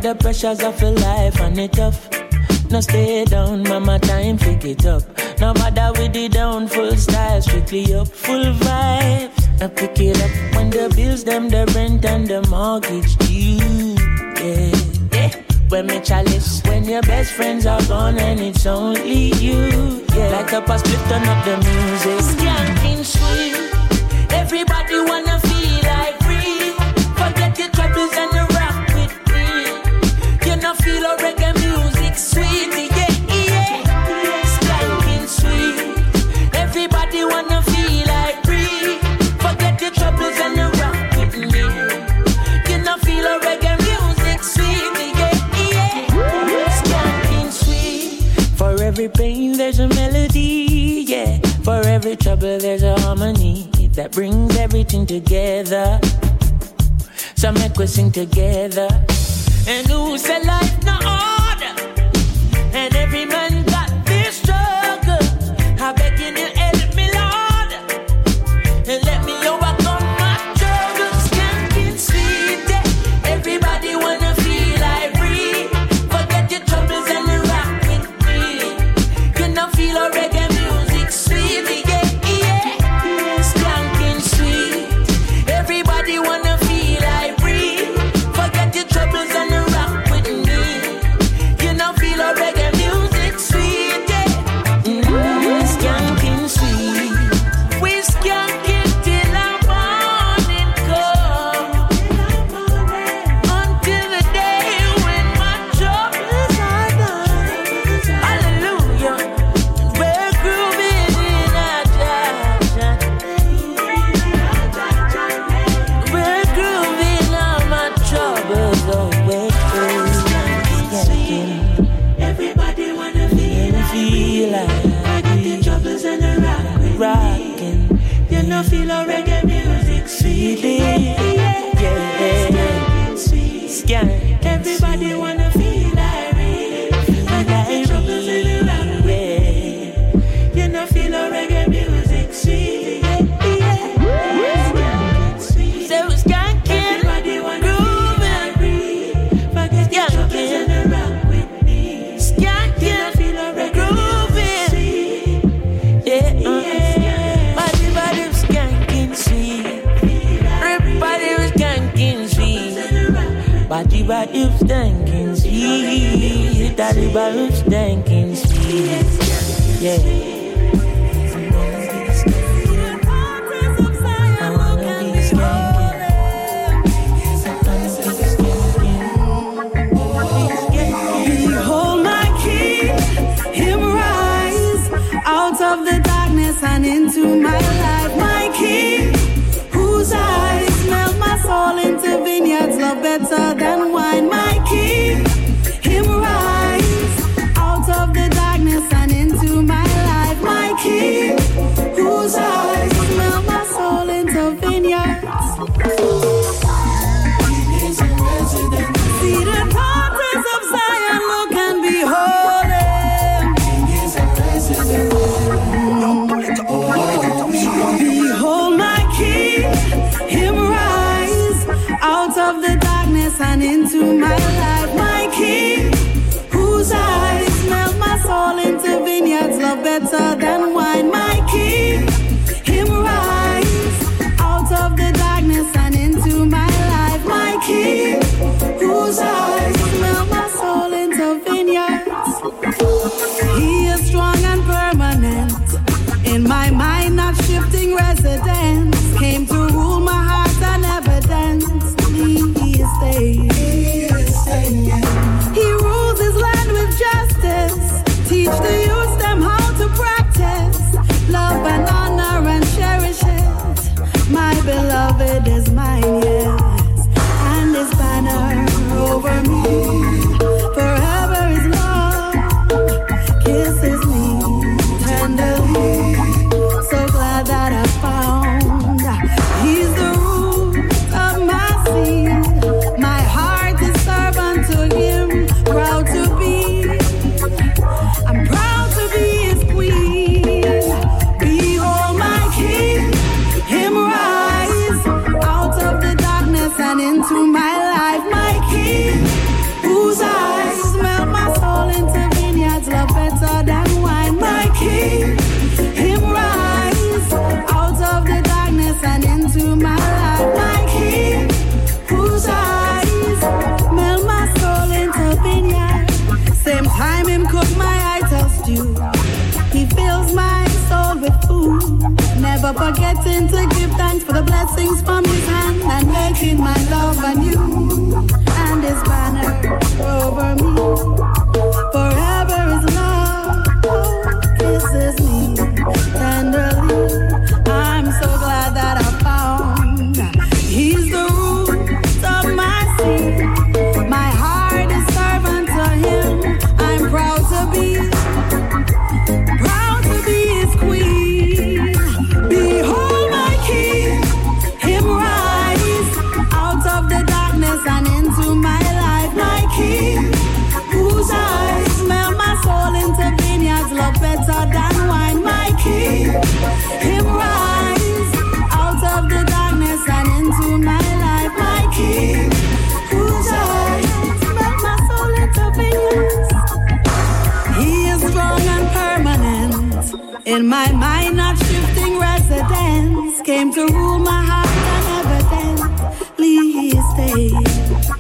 the pressures of your life and it tough. No stay down, mama, time pick it up. No bother with the down, full style, strictly up, full vibes. I pick it up when the bills, them, the rent and the mortgage due. Yeah, yeah. When me chalice, when your best friends are gone and it's only you. Yeah, like up a split, turn up the music. Skanking sweet, everybody wanna feel like free. Forget your troubles and the rock with me. You know feel a reggae music sweet, yeah, yeah. Skanking sweet, everybody wanna feel like free. Forget your troubles and the rock with me. You know feel a reggae music sweet, yeah, yeah. Skanking sweet, for every pain there's a melody, yeah. For every trouble there's a harmony that brings everything together. So make we sing together. And who said life no order? And every man got this struggle. I beg you to help me, Lord, and let me overcome my struggles. Skanking sweet, yeah. Everybody wanna feel like free. Forget your troubles and rock with me. You know feel a reggae music sweet, yeah, yeah. Skanking sweet, everybody wanna feel like free. Forget your troubles and rock with me. You know feel a reggae music sweet, yeah. Skanking sweet, we skank it till the morning come. Until the day when my troubles are done. Hallelujah, we're grooving in our Jah. We're grooving all my troubles away. Skanking, everybody wanna feel like forget the troubles and the rockin'. You know feel a reggae music sweet, yeah, yeah. Skank, everybody wanna feel like forget the troubles and the yeah. You know feel a reggae music sweet, yeah, yeah. So skanking, everybody wanna feel like forget the troubles and the rock with me. Skanking, feel a reggae music sweet, yeah, yeah. Everybody was skanking sweet. Everybody was skanking sweet. Body was skanking sweet. Daddy was skanking sweet, yeah. Behold my King, him rise out of the darkness and into my life. My King, whose eyes smell my soul into vineyards, love better than wine. My King, him rise out of the darkness and into my life. My King, whose eyes smell my soul into vineyards. See the daughters of Zion, look and behold him. Behold my King, him rise out of the darkness and into my life. My King, whose eyes smell my soul into vineyards, love better than wine. My King, him rise out of the darkness and into my life. My King, whose eyes smell my soul into vineyards. He is strong and permanent, in my mind not shifting residence. Came to rule my heart and evidence. He is staying. He rules his land with justice. Teach the youth them how to practice. never forgetting to give thanks for the blessings from his hand and making my love anew. And his banner over me forever is love. Oh, kisses me tenderly. I'm so glad that I found he's the root of my sea. My heart is servant to him. I'm proud to be his queen. Behold my king, him rise out of the darkness and into my life. My king, whose eyes smell my soul into vineyards, love better than wine. My king, him rise out of the darkness and into my life. My king, whose eyes smell my soul into vineyards. He is strong and permanent. In my mind, not shifting residence. Came to rule my heart and evidently he stayed.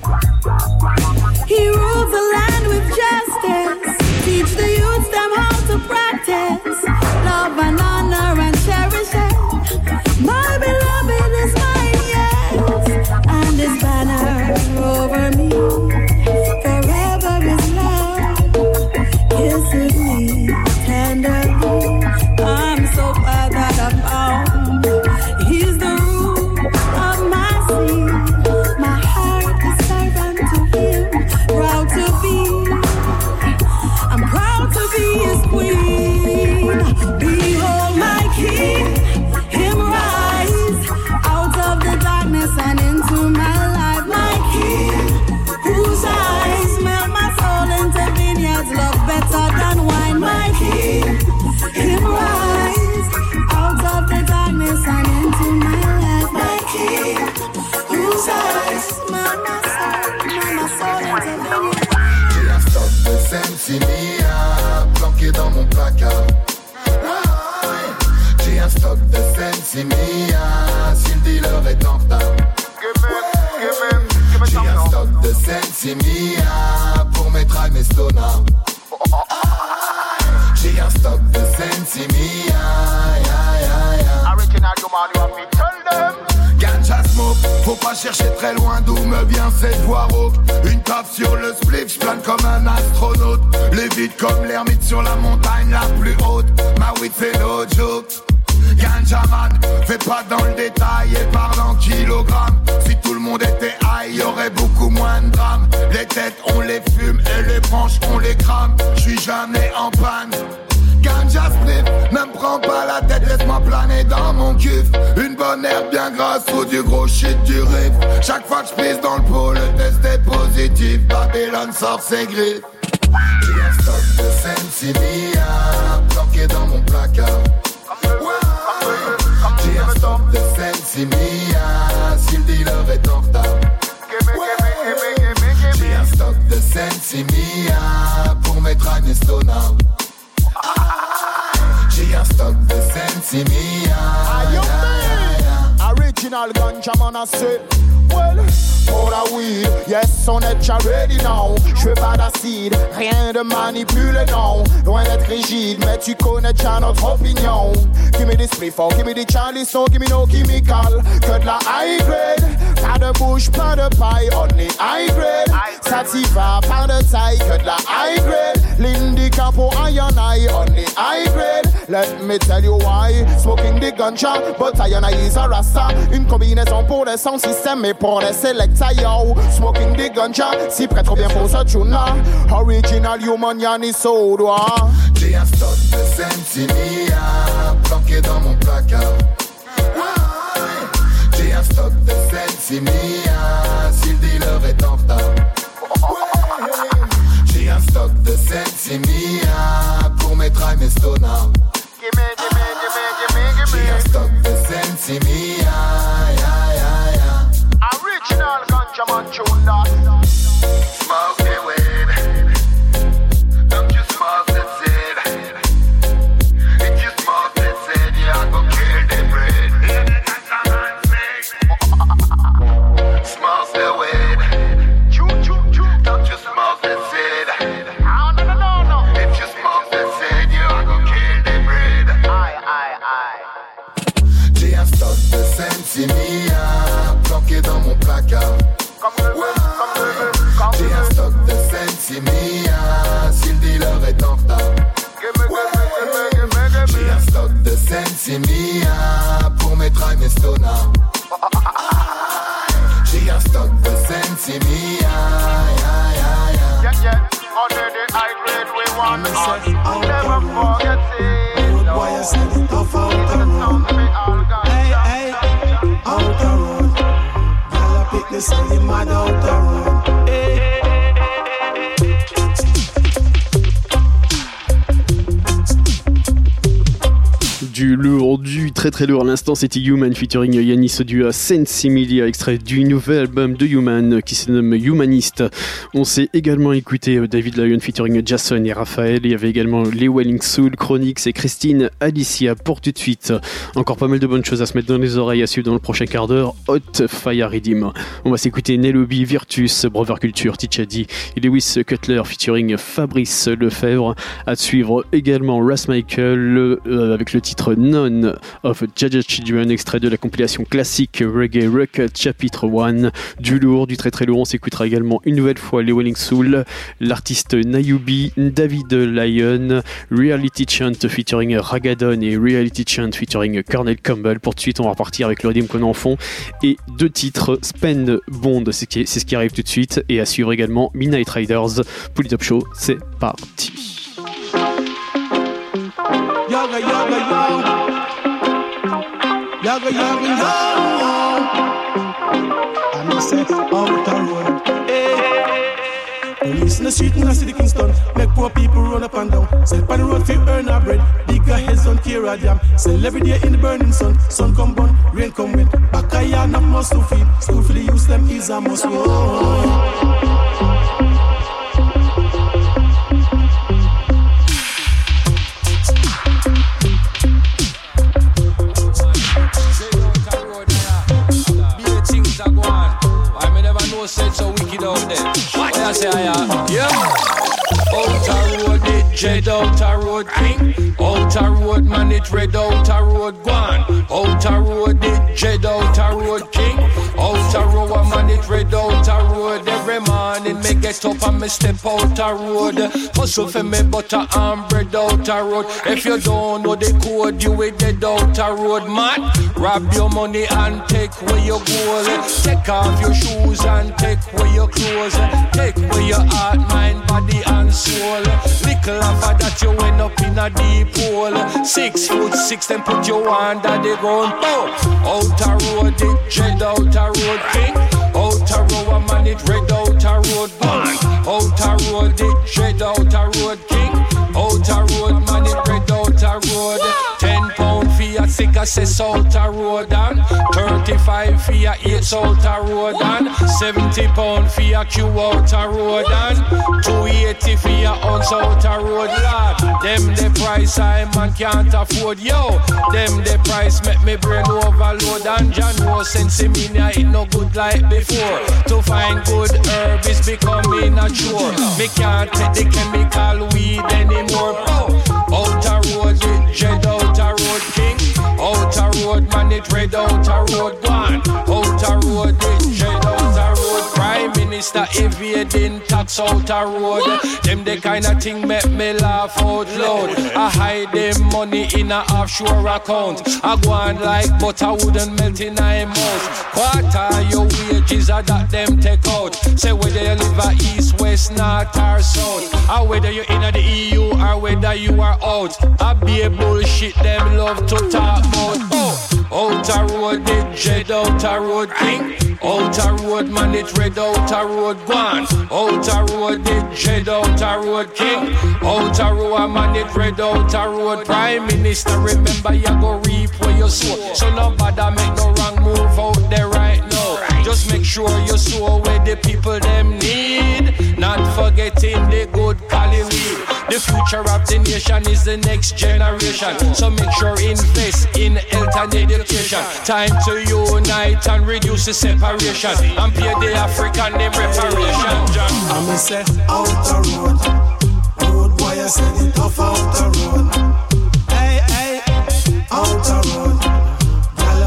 He rules the land with justice. Teach the youths them how to practice love and honor and cherish it. My beloved is mine, yes, and his banner over me forever is love. Kisses me tenderly. I'm so glad that I found he's the root of my sea. My heart is servant to him. Proud to be, I'm proud to be his queen. Behold my king, him rise out of the darkness and into my life. My king, whose eyes smell my soul into vineyards, love better than wine. My king, him rise out of the darkness and into my life. My king, whose eyes smell my soul into vineyards. J'ai un stock de Sensimilla planqué dans mon placard. J'ai un stock de Sensimilla si le dealer est en retard. J'ai un stock de Sensimilla pour mes trags, mes stonards. J'ai un stock de Sensimilla. Original, you man, you have me tell them. Ganja smoke, faut pas chercher très loin d'où me vient cette voix rauque. Une taf sur le spliff, j'plane comme un astronaute. Lévite comme l'ermite sur la montagne la plus haute. Ma weed c'est no joke. Ganja man, fais pas dans le détail et parle en kilogrammes. Si tout le monde était high, y'aurait beaucoup moins de drames. Les têtes on les fume et les branches on les crame. J'suis jamais en panne. Ganja spliff, ne me prends pas la tête, laisse-moi planer dans mon cuf. Une bonne herbe bien grasse ou du gros shit du riff. Chaque fois que j'pisse dans le pot, le test est positif. Babylone sort ses griffes. J'ai un stock de Sensimilla planqué dans mon placard. J'ai un stock de Sensimilla si le dealer est en retard. J'ai un stock de Sensimilla pour mes trags et stonards. J'ai un stock de Sensimilla. Original ganja man I say. Well, pour la weed, yes on est déjà ready now. J'veux pas d'acide, rien de manipulé non. Loin d'être rigide, mais tu connais déjà notre opinion. Give me this spliff, give me the Charlie, so give me no chemical. Que de la high grade, pas de bouche, pas de paille, only high grade. Sativa, pas de taille, que de la high grade. L'indica pour I&I, only high grade. Let me tell you why. Smoking the ganja, but I&I is a rasta. Une combinaison pour les sound system et pour les selecta yo. Smoking the ganja, si prêt trop bien pour ce tune-là. Original human yani soda. J'ai un stock de Sensimilla planqué dans mon placard. J'ai un stock de Sensimilla si le dealer est en retard. J'ai un stock de Sensimilla pour mes trags, mes stonards. J'ai un stock de Sensimilla. Original ganja man tune that. Smoke the weed. Don't you smoke the seed. If you smoke the seed, you go kill the breed. Smoke the weed. Don't you smoke the seed. No. If you smoke the seed, you go kill the breed. Aye. Sensimilla, planqué dans mon placard. J'ai un stock de Sensimilla, si le dealer est en retard. J'ai un stock de Sensimilla pour mettre un estona. J'ai un stock de Sensimilla. Under the high grade we want on. Never forget it. Good boy, I said it off out the road. Hey, hey, out the road. Girl, I pick this and you mad out the road. Hey. Du lourd, du très très lourd. À l'instant, c'était Human featuring Yanis du Sensimilla, extrait du nouvel album de Human qui se nomme Humanist. On s'est également écouté David Lyon featuring Jason et Raphaël. Il y avait également les Welling Soul, Chronix et Christine Alicia. Pour tout de suite, encore pas mal de bonnes choses à se mettre dans les oreilles, à suivre dans le prochain quart d'heure. Hot Fire Redeem. On va s'écouter Nelobi, Virtus, Brother Culture, Tichadi et Lewis Cutler featuring Fabrice Lefebvre. À suivre également Ras Michael avec le titre None of Jaja Children, extrait de la compilation classique Reggae Rock chapitre 1. Du lourd, du très très lourd. On s'écoutera également une nouvelle fois les Welling Soul, l'artiste Nayubi, David Lyon, Reality Chant featuring Ragadon et Reality Chant featuring Cornel Campbell. Pour tout de suite, on va repartir avec le rythme qu'on a en fond et deux titres, Spend Bond, c'est ce qui arrive tout de suite, et à suivre également Midnight Riders. Pour le Top Show, c'est parti. Yaga, yaga, yo. Yaga, yaga, yo. And I say, out the road. Hey. Police in the street in the city Kingston. Make poor people run up and down. Sell pan the road for earn a bread. Bigger heads don't care a damn. Sell every day in the burning sun. Sun come burn, rain come wet. Back a yard not must to feed. School for the use them is a must. Said so wicked out there. What I say, yeah. Outer road, it jet outer road king. Outer road, man, it red outer road gone. Outer road, it jet outer road king. Outer road, man, it red outer road. Every morning, me get up and me step outer road. Hustle for me butter and bread outer road. If you don't know the code, you will dead outer road, man. Grab your money and take where you go. Take off your shoes and take away your clothes. Take away your heart, mind, body and soul. Little after that you end up in a deep hole. 6'6", then put you under the ground. Outer road, it dread outer road king. Outer road, man, it red outer road bang. Outer road, it dread outer road king. Outer road, man, it red outer road. 10 pound for your sick assess outer road and 35 for your 8 outer road and 70 pound for your Q outer road and 280 for your ounce outer road, lad. Them the price I man can't afford, yo. Them the price make me brain overload and John was Sensimilla it no good like before. To find good herb is becoming a chore. Me can't take the chemical weed anymore. Outer road it dread outer road king. Outer road man it red outer road gone. Outer road it dread outer road. Prime Minister evading tax outer road. Them the kind of thing make me laugh out loud. I hide them money in a offshore account. I go on like butter wouldn't melt in a mouth. Quarter your wages are that them take out. Say whether you live at east, west, north or south, or whether you're in the EU or whether you are out. I be a bullshit them love to talk about. Outer road it dread outer road king. Outer road man it red outer road gone. Outer road it dread outer road king. Outer road man it red outer road. Prime Minister remember you go reap where you sow. So nobody make no wrong move out there right now. Just make sure you sow where the people them need. Not forgetting the good Cali weed. The future of the nation is the next generation. So make sure invest in health and education. Time to unite and reduce the separation and pay the African them reparation. I'm say outer road. Road boy I said it off outer road. Hey, hey, outer road. Girl I pick the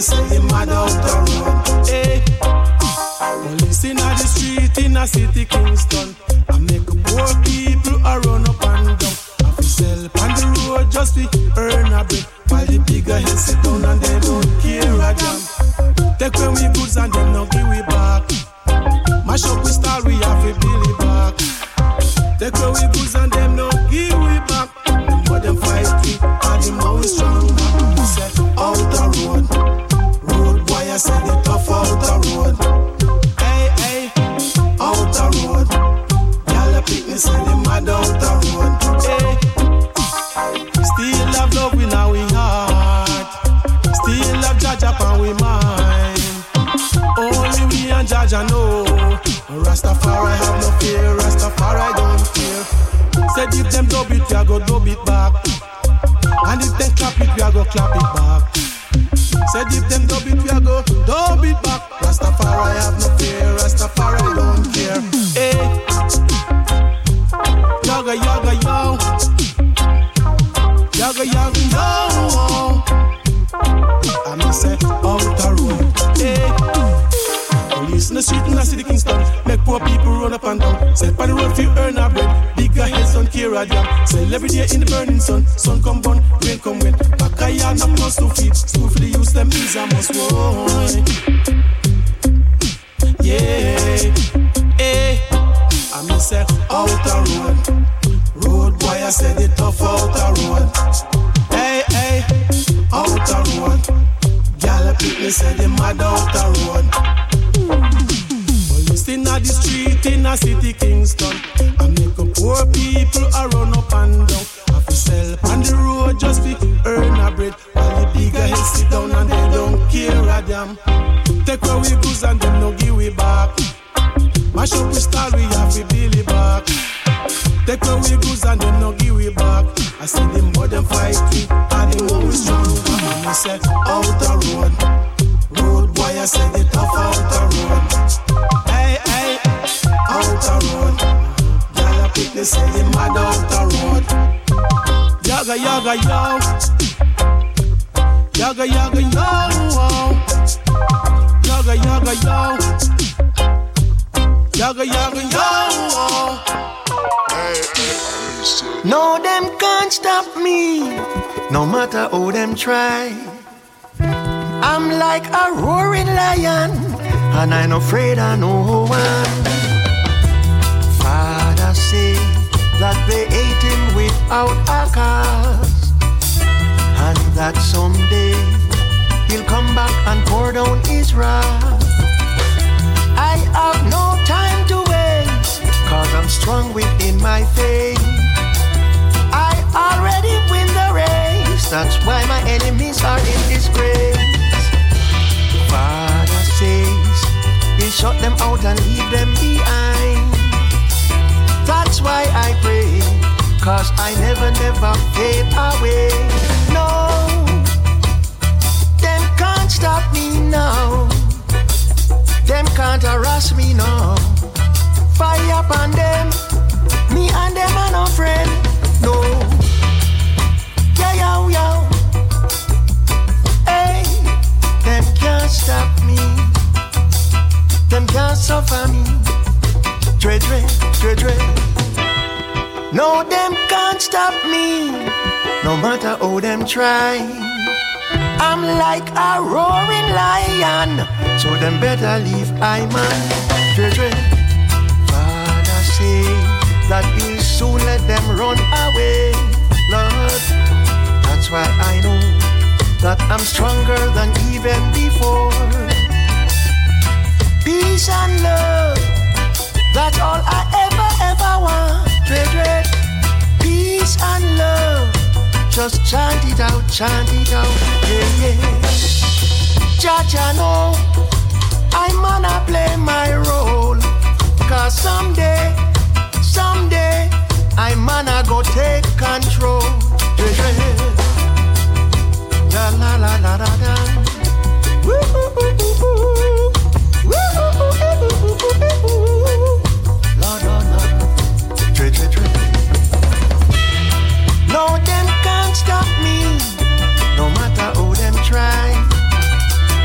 say they mad out the road. Hey, police in the street in a city Kingston. I make poor people a run up and down. I fi sell on the road just to earn a bread. While the bigger heads sit down and they don't care a damn. Take away we goods and them no give we back. Mash up we style we have to build it back. Take away we goods and them no give we back. The more them fight we and the more we strong. We say out the road, road boy I say the tough out the road. Hey hey, out the road. Y'all a pick me say the mad out the road. Hey, still have love in our heart. Still have Jaja and we mind. Only we and Jaja know. Rastafari have no fear. Rastafari don't care. Said if them dub it, we a go dub it back. And if them clap it, we a go clap it back. Said if them dub it, we a go dub it back. Rastafari have no fear. Rastafari don't care. Hey, yaga yaga yo, yaga yaga yo. I me say out the road. Hey, police in the street in the city Kingston. Make poor people run up and down. Say on the road fi earn a bread. Bigger heads don't care a damn. Sell every day in the burning sun. Sun come burn, rain come wet. Back a yard no plus to feed. School for the use them is a must want. Yeah, hey, I me say out the road. Road boy I say the tough out the road. Hey hey, out the road. Gyal a pick me say the mad out the road. Police in the street in a city Kingston. I make up poor people a run up and down. I fi sell on the road just to earn a bread. While the bigger heads sit down and they don't care a damn. Take away we goods and them no give we back. Mash up we style we have to build it back. Take away we goods and them no give we back. I see them more them fight we and them more we strong. And me say out the road, road boy I say the tough out the road. Hey hey, out the road. Gyal a pick they say the mad out the road. Yaga yaga yo, yaga yaga yo, yaga yaga yo, yaga yaga yo. No, them can't stop me, no matter how them try. I'm like a roaring lion, and I'm afraid of no one. Father say that they ate him without a cause, and that someday he'll come back and pour down his wrath. I have no time to waste, cause I'm strong within my faith. I already win the race, that's why my enemies are in disgrace. Father says he'll shut them out and leave them behind. That's why I pray, cause I never fade away. No, them can't stop me now. Them can't harass me now. Fire upon them, me and them are no friend. No, yeah, yo, yo. Hey, them can't stop me. Them can't suffer me. Dread, dread, dread, dread. No, them can't stop me, no matter how them try. I'm like a roaring lion, so them better leave I man. Dread, dread. Father say that he'll soon let them run away, Lord. That's why I know that I'm stronger than even before. Peace and love, that's all I ever want. Dread, dread. Peace and love, just chant it out, yeah, yeah. Jaja know I'm gonna play my role, cause someday I'm gonna go take control. La la la la la la. Woo woo woo woo woo woo. La la la. Tre. No, them can't stop me, no matter how them try.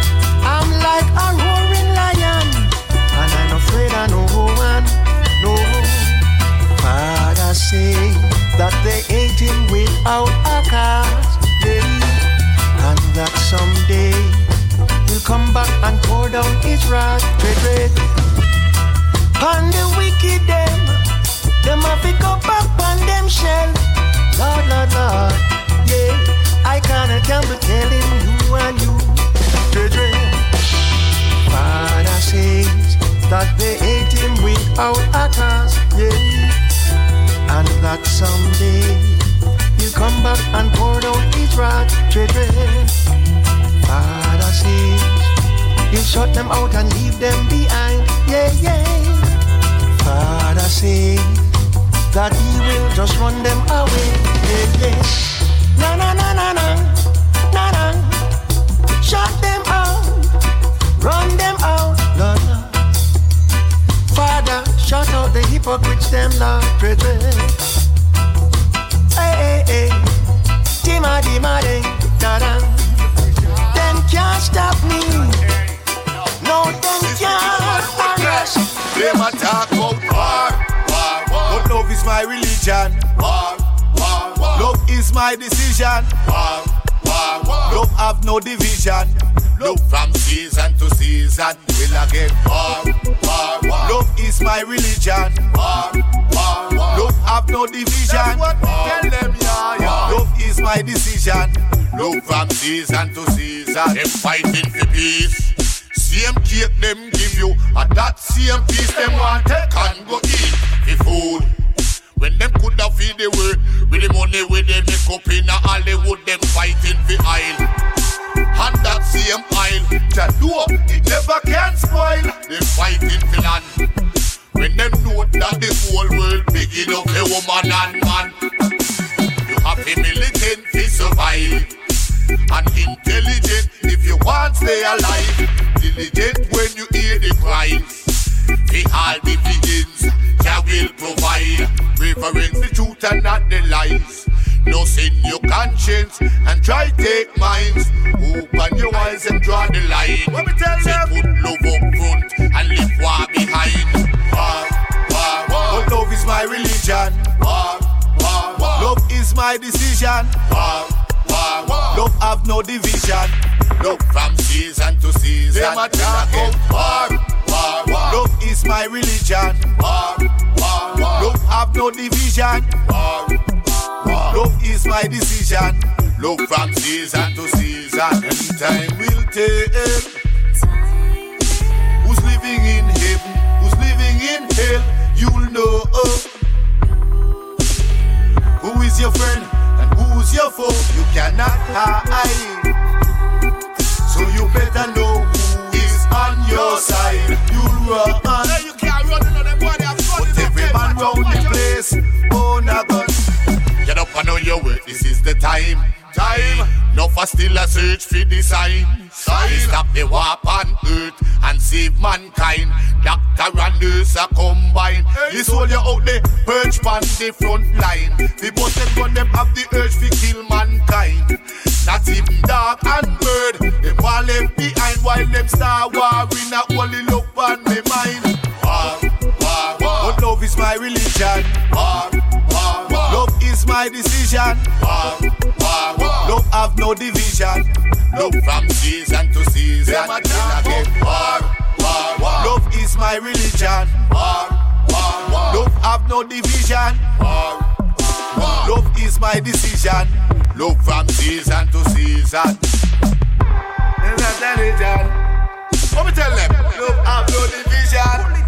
right, dread. On the wicked them have to go back on them shell. Lord, Lord, Lord, yeah. I can't be telling you and you, dread. Father says that they hate him without a cause, yeah. And that someday he'll come back and pour out his wrath, dread. Father says he'll shut them out and leave them behind, yeah, yeah. Father says that he will just run them away, yeah, yeah. No, no, no, no, no, no, no. Shut them out, run them out, Lord, Lord. Father, shut out the hypocrites, them, Lord, brethren. Hey, hey, hey, Dima, Dima, Ding, da-da. Them can't stop me. No, them can't arrest. Them attack about war, but love is my religion. Love is my decision. Love have no division. Love from season to season will again war. Love is my religion. Love have no division. Tell them love is my decision. Love from season to season. Them fighting for peace. Same cake them give you, and that same piece them want take and go eat the food. When them coulda feed the world with the money where they make up in Hollywood, them fighting for oil. And that same oil, that know it never can spoil. They fighting for land. When them know that the whole world big enough a woman and man. You have a militant to survive. And intelligent if you want to stay alive. Diligent when you hear the cries. The all divisions Jah will provide. Reverence the truth and not the lies. No sin your conscience and try take minds. Open your eyes and draw the line. Let me tell say put love up front and leave war behind. But love is my religion. Love is my decision. Love have no division. Love from season to season. Them attack war. Love is my religion. Love have no division. Love is my decision. Love from season to season. And time will tell who's living in heaven, who's living in hell. You'll know who is your friend and who's your foe. You cannot hide. So you better know who is on your side. You'll run. Hey, you can't run another body. But every man round the place, oh, na gun. Get up and know your work, this is the time. No for still a search for the sign. Stop the war on earth and save mankind. Doctor and nurse are combined. This soldier out there, perch on the front line. The boss them gun them have the urge to kill mankind. Not even dog and bird, them all left behind while them start warring. Not only look on me mind. But love is my religion. Love is my decision. Love have no division. Love from season to season. Love is my religion. Love have no division. Love is my decision. Love from season to season. Let me tell them. Love have no division.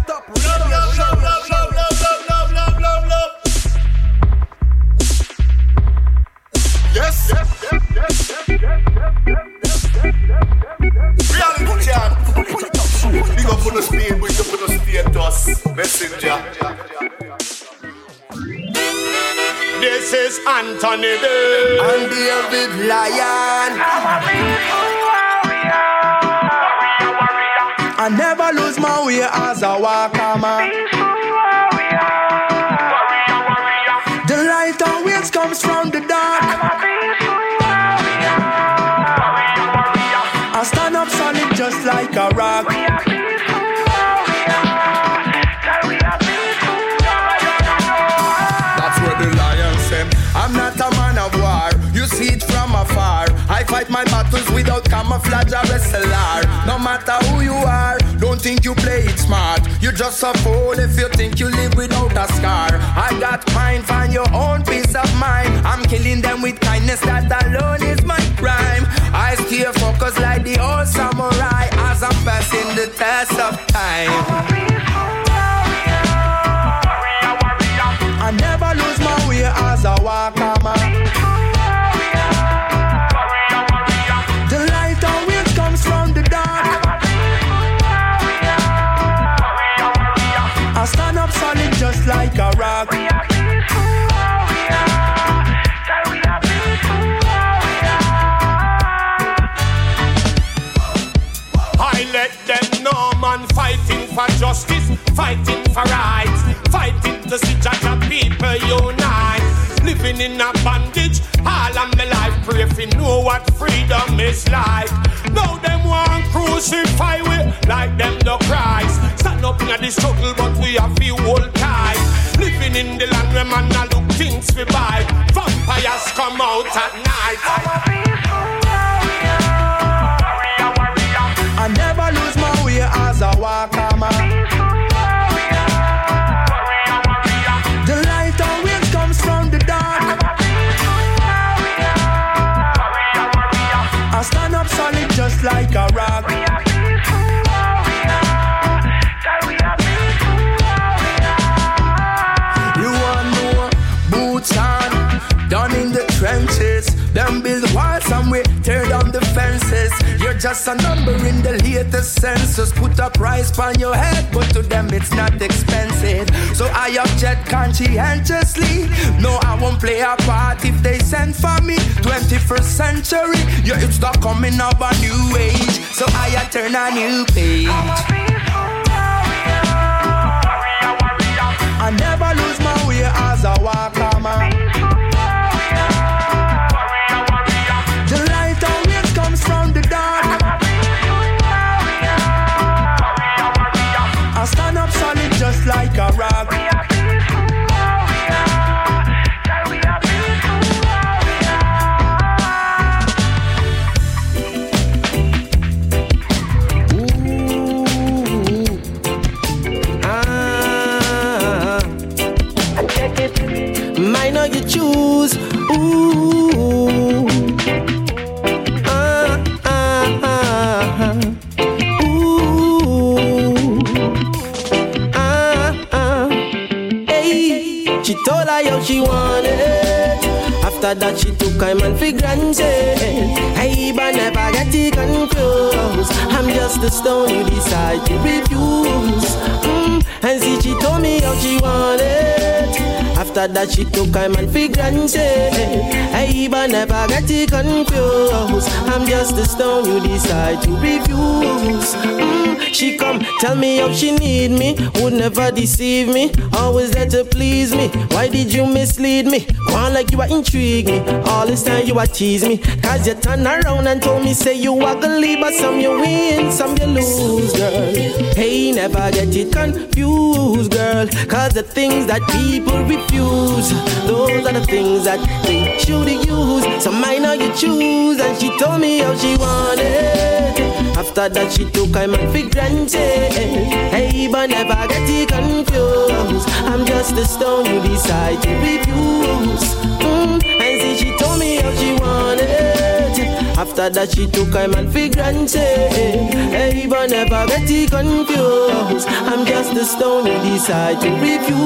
Love. Yes. Reality champ. Big up on the speed, big up on the status. Messenger. This is Anthony Day and David Lion. I never lose my way as a walker man. The light always comes from the dark. I stand up solid just like a rock. That's what the lion said. I'm not a man of war. You see it from afar. I fight my battles without camouflage or SLR. No matter who you are, don't just a fool if you think you live without a scar. I got mine, find your own peace of mind. I'm killing them with kindness, that alone is my crime. I stay focused like the old samurai as I'm passing the test of time. I never lose my way as I walk on my. The light always comes from the dark. I stand up solid just like a rock. I let them know, man, fighting for justice, fighting for rights, fighting to see Jaja people unite. Living in a bondage, all of my life, pray if you know what freedom is like. Now them want crucify we like them the Christ. Stand up in the struggle, but we have few hold tight. Living in the land where man a look things we buy. Vampires come out at night. I never lose my way as I walk on my. The light always comes from the dark. I stand up solid just like a rock. You want more boots on, down in the trenches. Them build walls and we tear down the fences. You're just a number in the latest census. Put a price on your head, but to them it's not expensive. So I object conscientiously. No, I won't play a part if they send for me. 21st century, yeah, it's the coming of a new age. So I turn a new page. I never lose my way as I walk on my. From the dark, I stand up solid just like a rock. Mine or you choose. She told her how she wanted. After that she took time and for granted. Hey, but never get it confused. I'm just a stone you decide to refuse. And see she told me how she wanted. After that she took time and for granted. Hey, but never get it confused. I'm just a stone you decide to refuse. She come tell me how she need me, would never deceive me, always there to please me. Why did you mislead me? One like you are intrigue me. All this time you are tease me. Cause you turn around and told me say you are gonna leave, but some you win, some you lose, girl. Hey, never get it confused, girl. Cause the things that people refuse, those are the things that they should use. So mine now you choose. And she told me how she wanted. After that she took time and for granted. Hey, but never get it confused. I'm just a stone you decide to refuse. And see she told me how she wanted. After that she took time and for granted. Hey, but never get it confused. I'm just a stone you decide to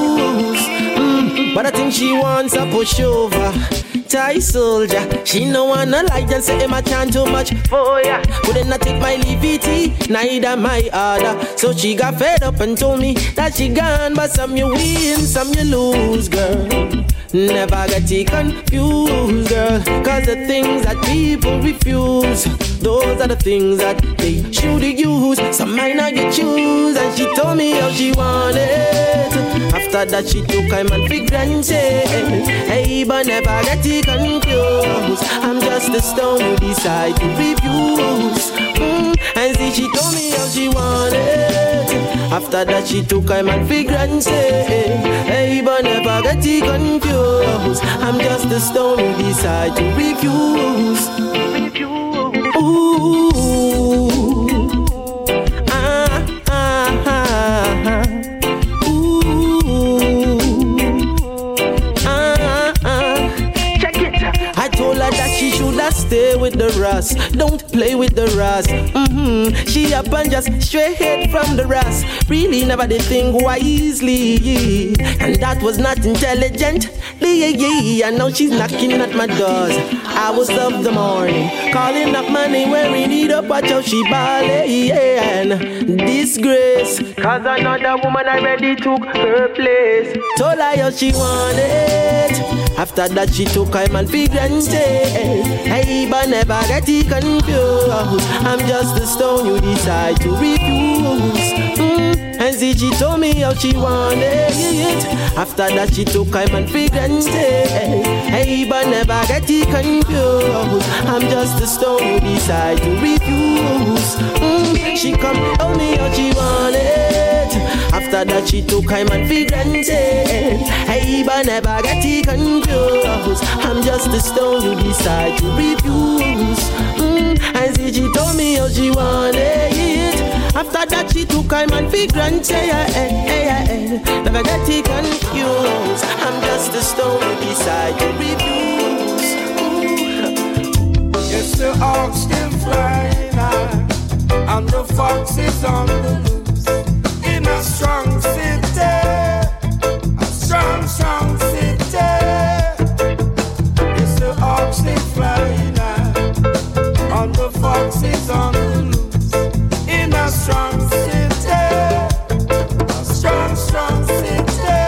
refuse. But I think she wants a pushover. Thai soldier, she no wanna like and say I can't too much for ya. Couldn't not take my liberty, neither my order. So she got fed up and told me that she gone. But some you win, some you lose, girl. Never get it confused, girl. Cause the things that people refuse, those are the things that they should use. Some might not get choose. And she told me how she wanted. After that she took time and for granted. Hey, but never get it confused. I'm just a stone you decide to refuse. And see she told me how she wanted. After that she took time and for granted. Hey, but never get it confused. I'm just a stone you decide to refuse. Ooh, just stay with the Ross. Don't play with the Ross. She up and just straight from the Ross. Really never did think wisely, and that was not intelligent. And now she's knocking at my doors. Hours of the morning, calling up my name, wearing it up. Watch how she ballin'. Disgrace, cause another woman already took her place. Told her how she wanted. After that she took her man for granted. Hey, but never get it confused. I'm just a stone you decide to refuse. And see, she told me how she wanted it. After that she took her man for granted. Hey, but never get it confused. I'm just a stone you decide to refuse. She come tell me how she wanted. After that she took her man for granted. Hey, but never get it confused. I'm just a stone you decide to refuse. And see, she told me how she wanted it. After that she took her man for granted. Never get it confused. I'm just a stone you decide to refuse. Yes, the hawks still flying high, and the fox is on the loose. In a strong city, a strong, strong city. Yes, the hawks still flying high, and the fox is on the loose. In a strong city, a strong, strong city.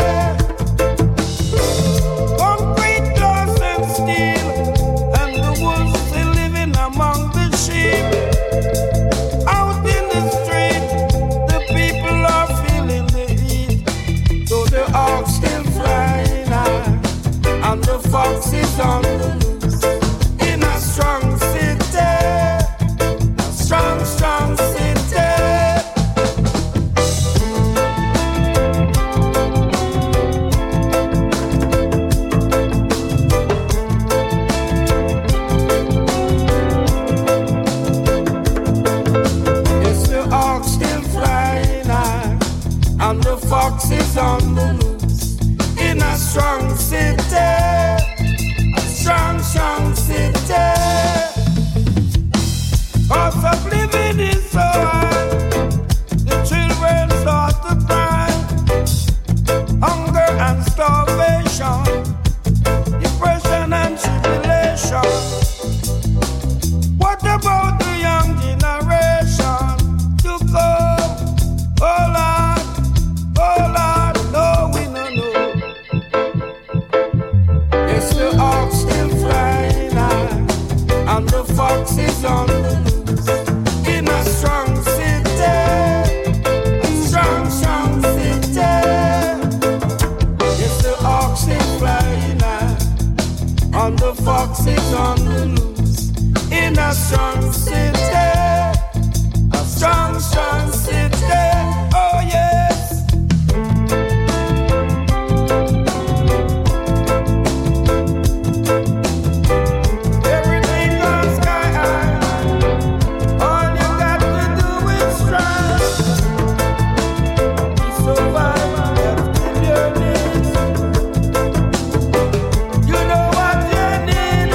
Concrete, glass and steel, and the wolves still living among the sheep. Out in the street, the people are feeling the heat. So the hawks still flying high, and the fox is on the loose. In a strong city, a strong, strong city. Yes, the hawks still flying high, and the fox is on the loose. In a strong city, a strong, strong city. Cost of living is so high, the children start to cry. Hunger and starvation, depression and tribulation. What about the young generation to come? Oh Lord, no, we no know. Yes, the hawks still flying high, and the fox is on the loose. In a strong city, a strong, strong city. Yes, the hawks still flying high, and the fox is on the loose. In a strong city, a strong, strong city. Oh yes. Everything goes sky high. All you got to do is try. To survive, you have to give your needs. You know what you need,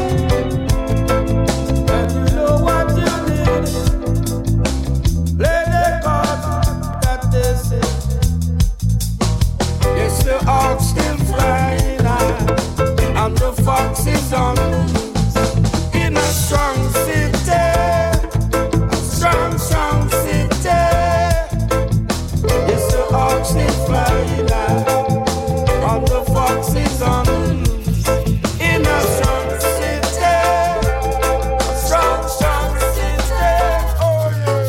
and you know what you need. Play the cards that they say. Yes, the hawks still flying high, and the fox is on the loose. In a strong city, a strong, strong city. Yes, the hawks still flying high, and the fox is on the loose. In a strong city, a strong, strong city. Oh yeah.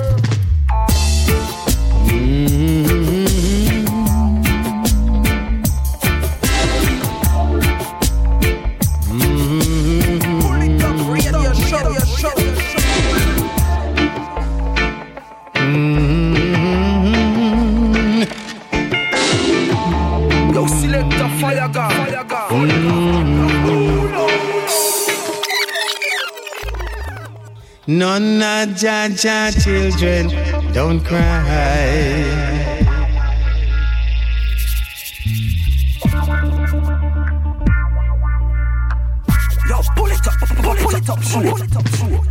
Yo, select the fire gun. None of Jaja children don't cry. Yo, pull it up, pull it up. it up, show. Pull it up, show.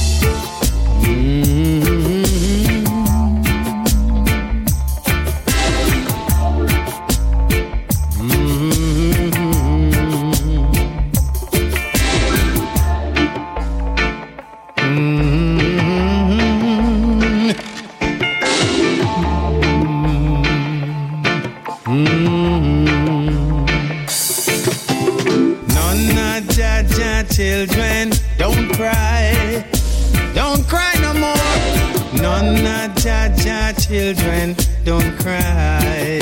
Children, don't cry no more. None of Jaja children, don't cry.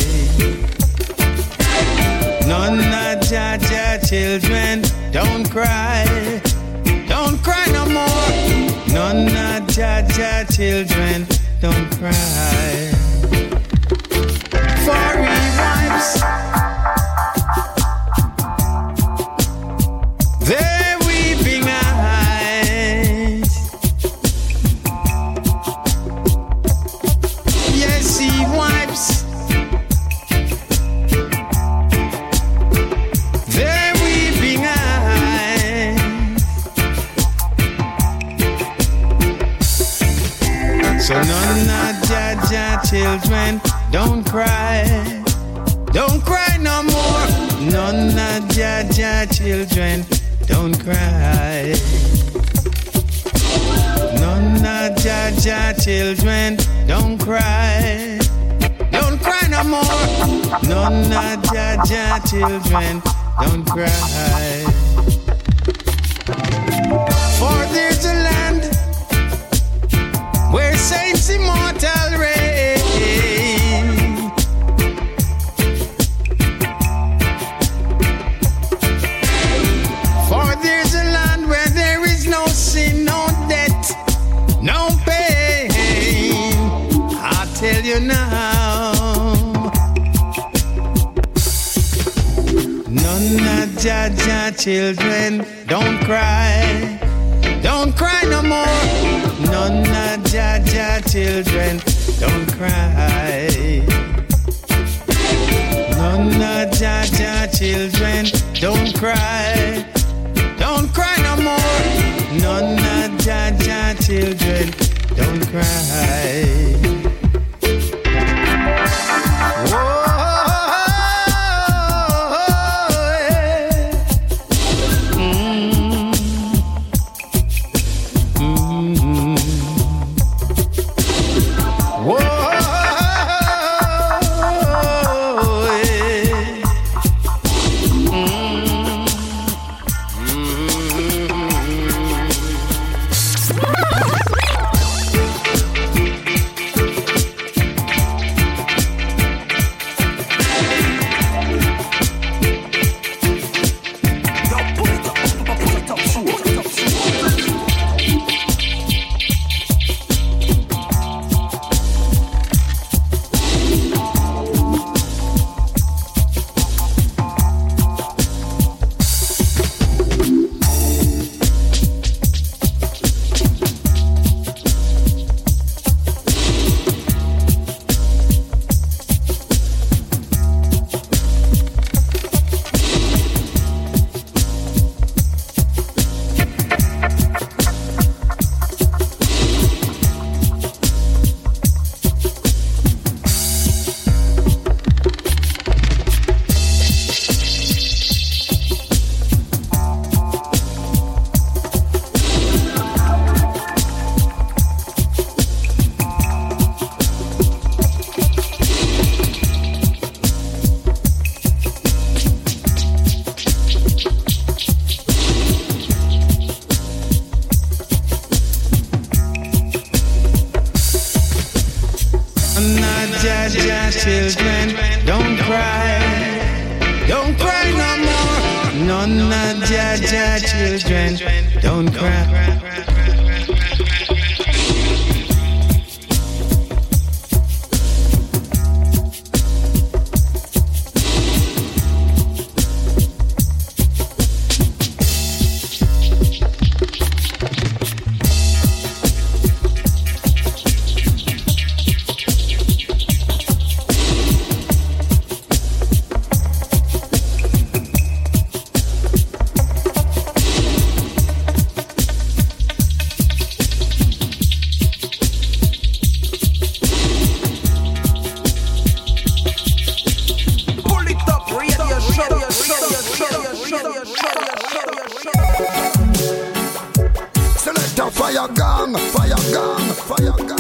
None of Jaja children, don't cry no more. None of Jaja children, don't cry. For wives, they're weeping eyes. Yes, he wipes their weeping eyes. So none of Jaja children, don't cry no more. None of Jaja children, don't cry. None of Jaja children, don't cry no more. None of Jaja children, don't cry. For there's a land where saints immortal reign. For there's a land where there is no sin, no debt, no pain. I tell you now, none of Jaja children, don't cry no more. None of Jaja children, don't cry. None of Jaja children, don't cry no more. None of Jaja children, don't cry. Children, don't cry no more. None of Jaja children, don't cry. a fire gang, fire gang, fire gang.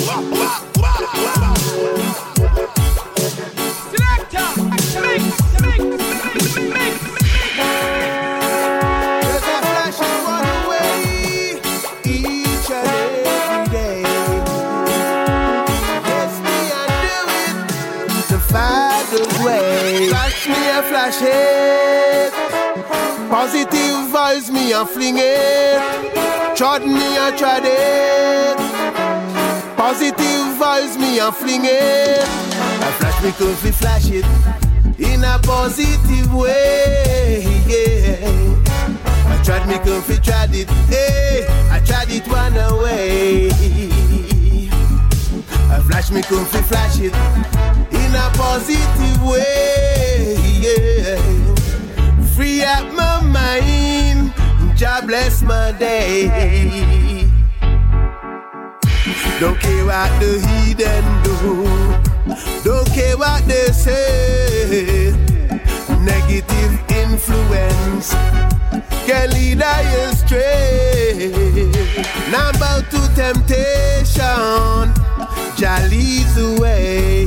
Flash me a flash it. Positive vibes me a fling it. Trod me a trod it. Positive vibes me a fling it. I flash me could fi flash it in a positive way. Yeah. I tried me could fi trod it. Hey, I tried it one away. I flash me could fi flash it in a positive way, yeah. Free up my mind, Jah bless my day. Don't care what the heathen do, don't care what they say. Negative influence can lead I astray. Now about to temptation, Jah leads the way.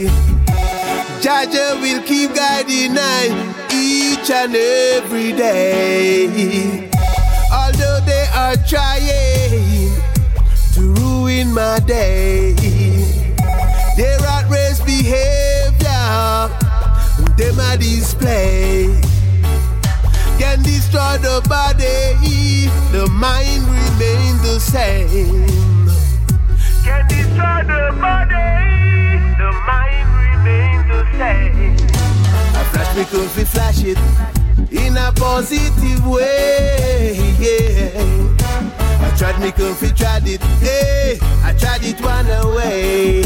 Jah will keep guiding I each and every day. Although they are trying to ruin my day, their outrageous behavior, them a display, can destroy the body, the mind remains the same. Can destroy the body, the mind remains the same. I flash me could fi flash it in a positive way, yeah. I tried me could fi tried it, hey, I tried it one away.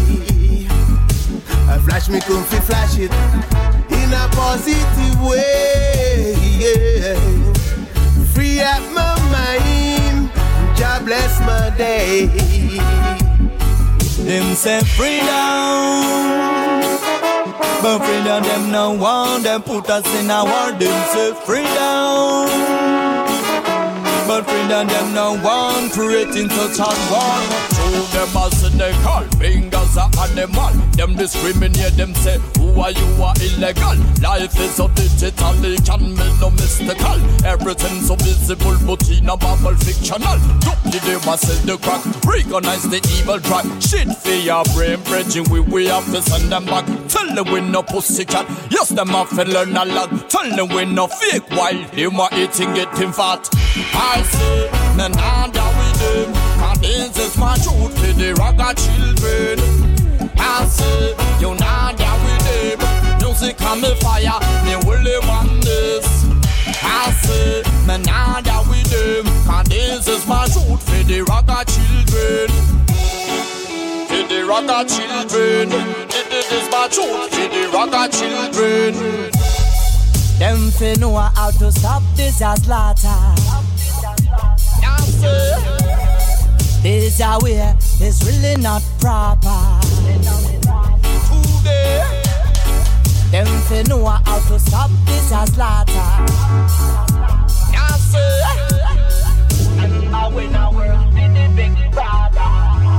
I flash me could fi flash it in a positive way, yeah. Free up my mind, Jah bless my day. Them say freedom, but freedom them no want. Them put us in a war. Them say freedom, but freedom them no want. Creating such a war. Show them as they call fingers are animal. Them discriminate. Them say who are you are illegal. Life is so digital, it can be no mystical. Everything so visible, but in a bubble fictional. They must sell the crack, recognize the evil track. Shit for your brain, bridging we have to send them back. Tell them we no pussycat, yes them have to learn a lot. Tell them we no fake while them are eating getting fat. I say, nah nah with them, and this is my truth for the ragga children. I say, you nah with them, music and me fire, me will want this. I say, man, nah with them, and this is my truth for the ragga children. For the ragga children, this is my truth for the ragga children. Them fi know how to stop this a slaughter. I say, this a way is really not proper. Them fi know how to stop this a slaughter. I say, and I win a world with the big brother.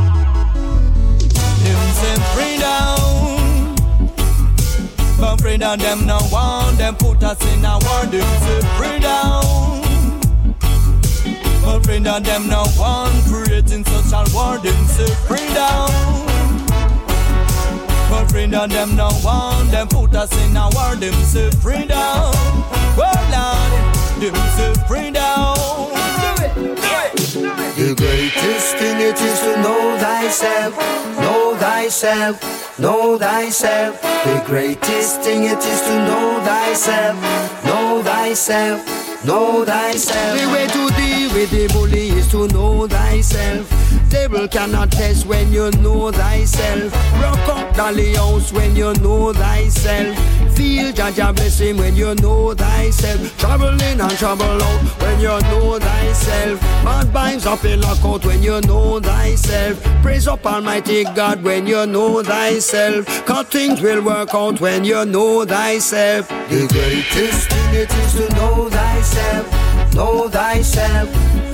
Them say freedom, but freedom them no want. Them put us in a war. Them say freedom, but freedom them no want. Creating such a war. Them say freedom, but freedom them no want. Them put us in a war. Them say freedom, well Lord, them say freedom. Do it, do it, do it. The greatest thing it is to know thyself, know thyself, know thyself. The greatest thing it is to know thyself, know thyself, know thyself. The way to deal with the bully is to know thyself. Devil cannot test when you know thyself. Rock up the house when you know thyself. Feel Jah blessing when you know thyself. Trouble in and trouble out when you know thyself. Bad vibes up in lockout when you know thyself. Praise up Almighty God when you know thyself. Cause things will work out when you know thyself. The greatest thing it is to know thyself, know thyself,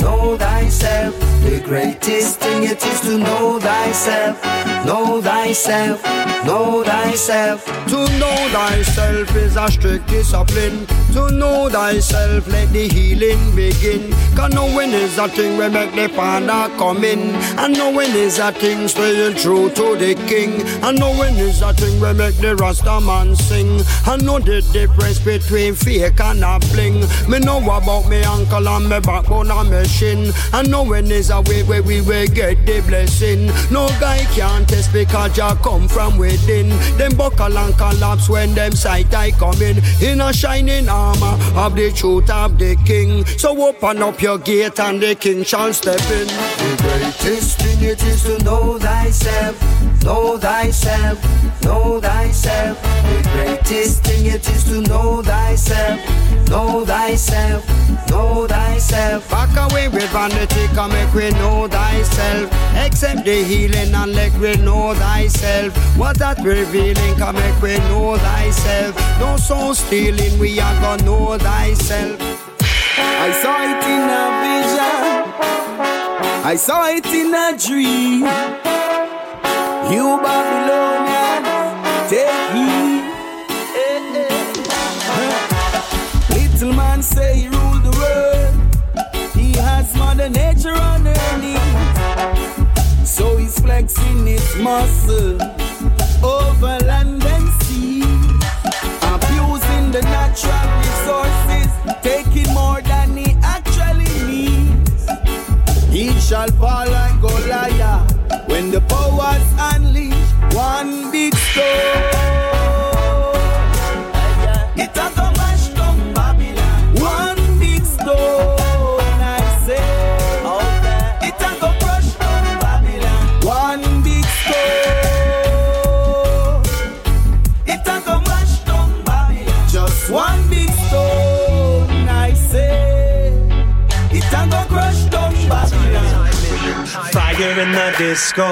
know thyself. The greatest thing it is to know thyself. Know thyself, know thyself. To know thyself is a strict discipline. To know thyself, let the healing begin. Cause knowing is a thing we make the panda come in. And knowing is a thing staying true to the king. And knowing is a thing we make the Rasta man sing. And know the difference between fake and a bling. Me know about me ankle and me backbone and me shin. And knowing is a way where we will get the blessing. No guy can't test because you come from within. Them buckle and collapse when them sight I come in a shining armor of the truth of the king. So open up your gate and the king shall step in. The greatest thing it is to know thyself. Know thyself, know thyself. The greatest thing it is to know thyself. Know thyself, know thyself. Back away with vanity, come make we know thyself. Accept the healing and let we know thyself. What that revealing, come make we know thyself. No soul stealing, we are gonna know thyself. I saw it in a vision, I saw it in a dream. You Babylonians, take heed. Little man say he rule the world. He has Mother Nature on her knees. So he's flexing his muscle over land and sea, abusing the natural resources, taking more than he actually needs. He shall fall like Goliath when the power's unleashed. One big stone, it a go mash down Babylon. One big stone, I say, it a go crush down Babylon. One big stone, it a go mash down Babylon. Just one big stone, I say, it a go crush down Babylon. Fire in the disco,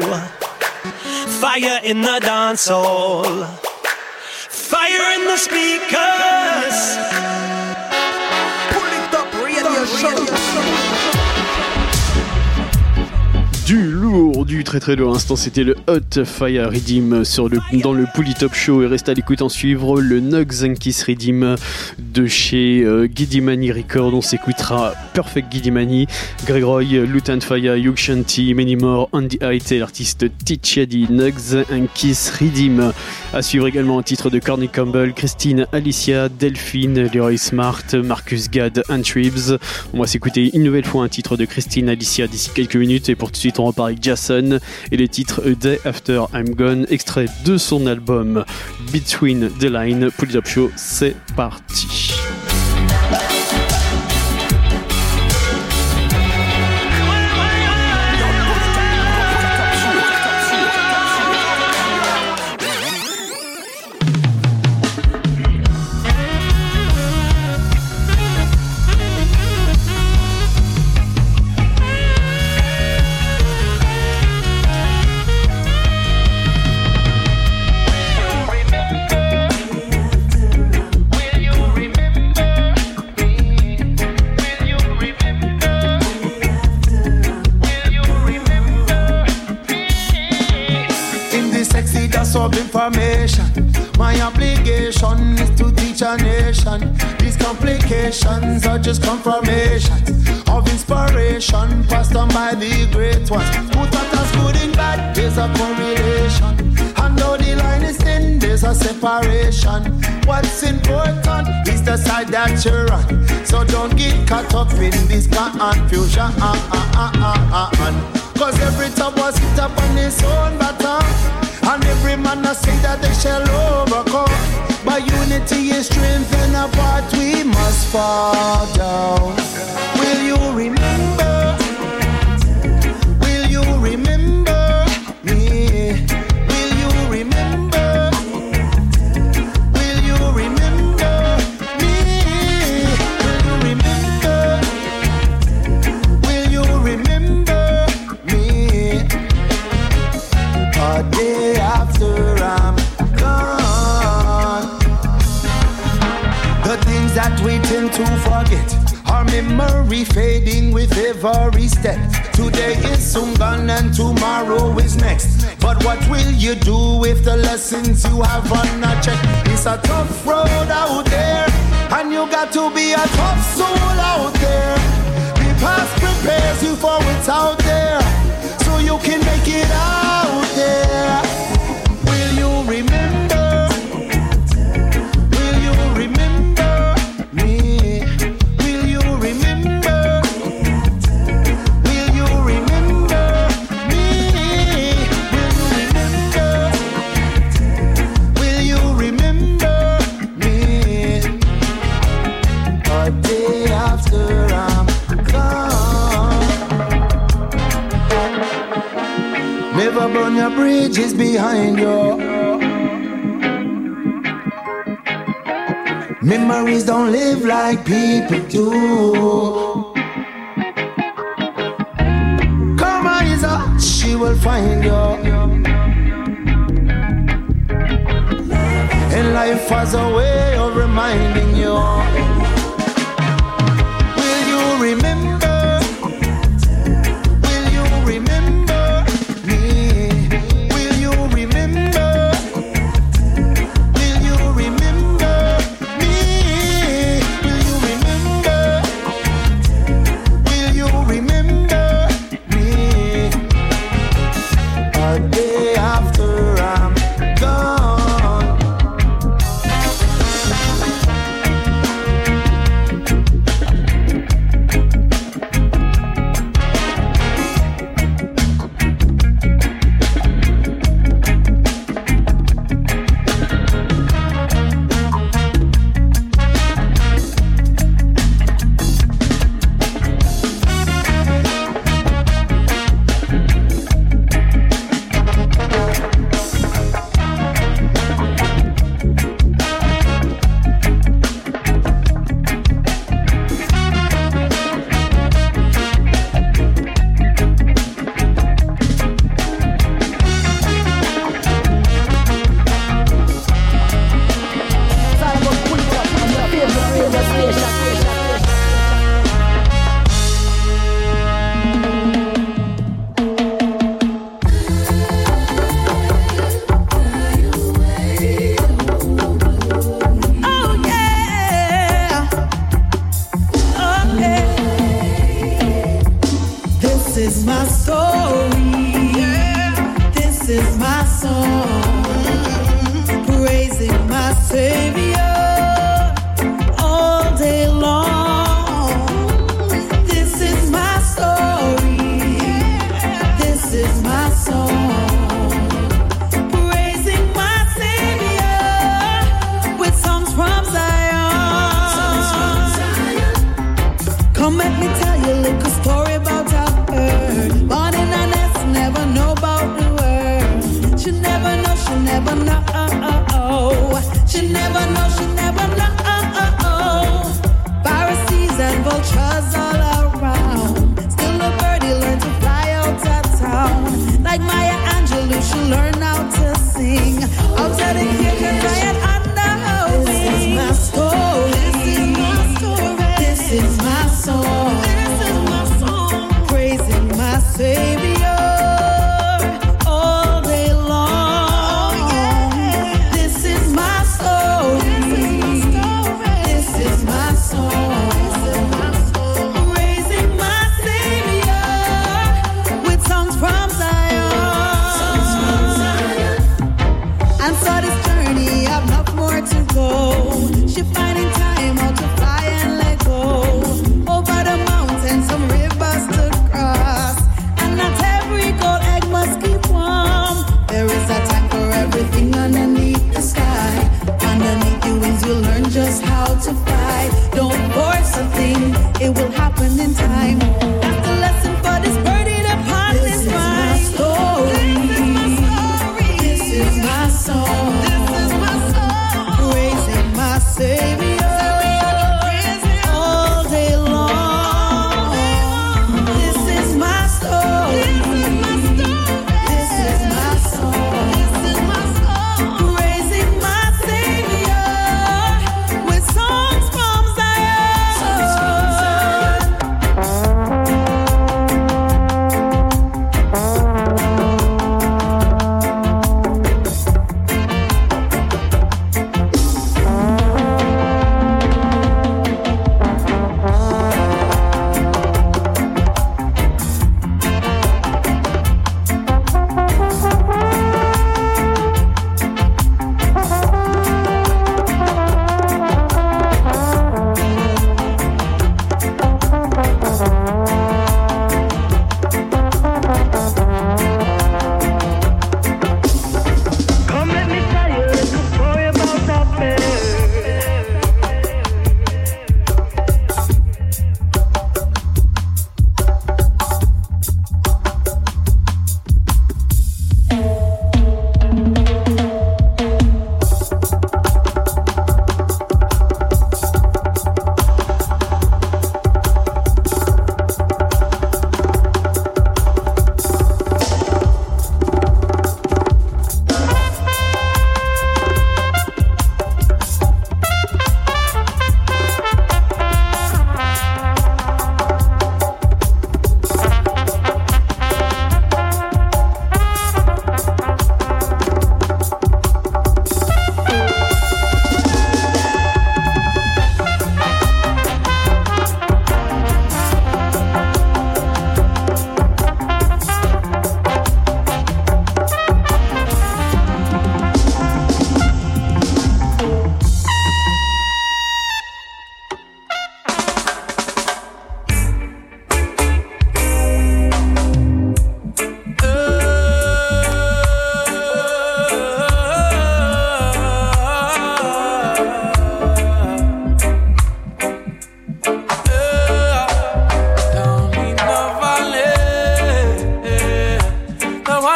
fire in the dance hall, fire in the speakers. Pull it up, radio show. Du lourd, du très très lourd. À l'instant, c'était le Hot Fire Rhythm dans le Pouli Top Show. Et reste à l'écoute en suivre le Nugs and Kiss Rhythm de chez Gidimani Record. On s'écoutera Perfect Gidimani, Greg Roy, Lutan Fire, Hugh Shanti, Many More, Andy Height et l'artiste Tichadi. Nugs and Kiss Rhythm. À suivre également un titre de Corny Campbell, Christine Alicia, Delphine, Leroy Smart, Marcus Gad, and Tribs. On va s'écouter une nouvelle fois un titre de Christine Alicia d'ici quelques minutes. Et pour tout de suite, on repart avec Jason et les titres A Day After I'm Gone, extrait de son album Between the Line. Pouli Top Show, c'est parti. Information. My obligation is to teach a nation. These complications are just confirmations of inspiration passed on by the great ones. Who thought us good and bad? There's a correlation. And though the line is thin, there's a separation. What's important is the side that you're on. So don't get caught up in this confusion. Cause every top was hit up on his own baton. And every man I say that they shall overcome. By unity is strength, and apart we must fall down. Will you remember? Will you remember me? Will you remember? Will you remember me? Will you remember? Will you remember me? A day after I'm gone, the things that we tend to forget are memories memory fading with every step. Today is soon gone and tomorrow is next. But what will you do if the lessons you have on a check? It's a tough road out there, and you got to be a tough soul out there. The past prepares you for what's out there, so you can make it out there. Will you remember? Will you remember me? Will you remember? Will you remember me? Will you remember me? A day after I'm gone. Never burn your bridges behind you. Memories don't live like people do. Karma is a, she will find you. And life has a way of reminding you. Will you remember? Will you remember me? Will you remember? Will you remember me? Will you remember? Will you remember me? A day after I'm gone.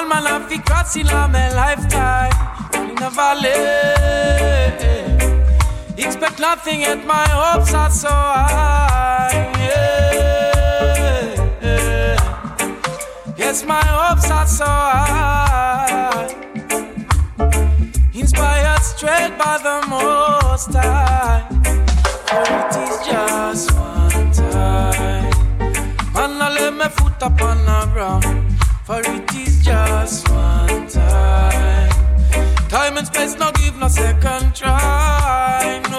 one man have to cross in a my lifetime. In the valley, expect nothing yet my hopes are so high. Yes, my hopes are so high. Inspired straight by the Most High. For it is just one time. Man, I lay my foot upon the ground. For it is just one time. Time and space no give no second try. No.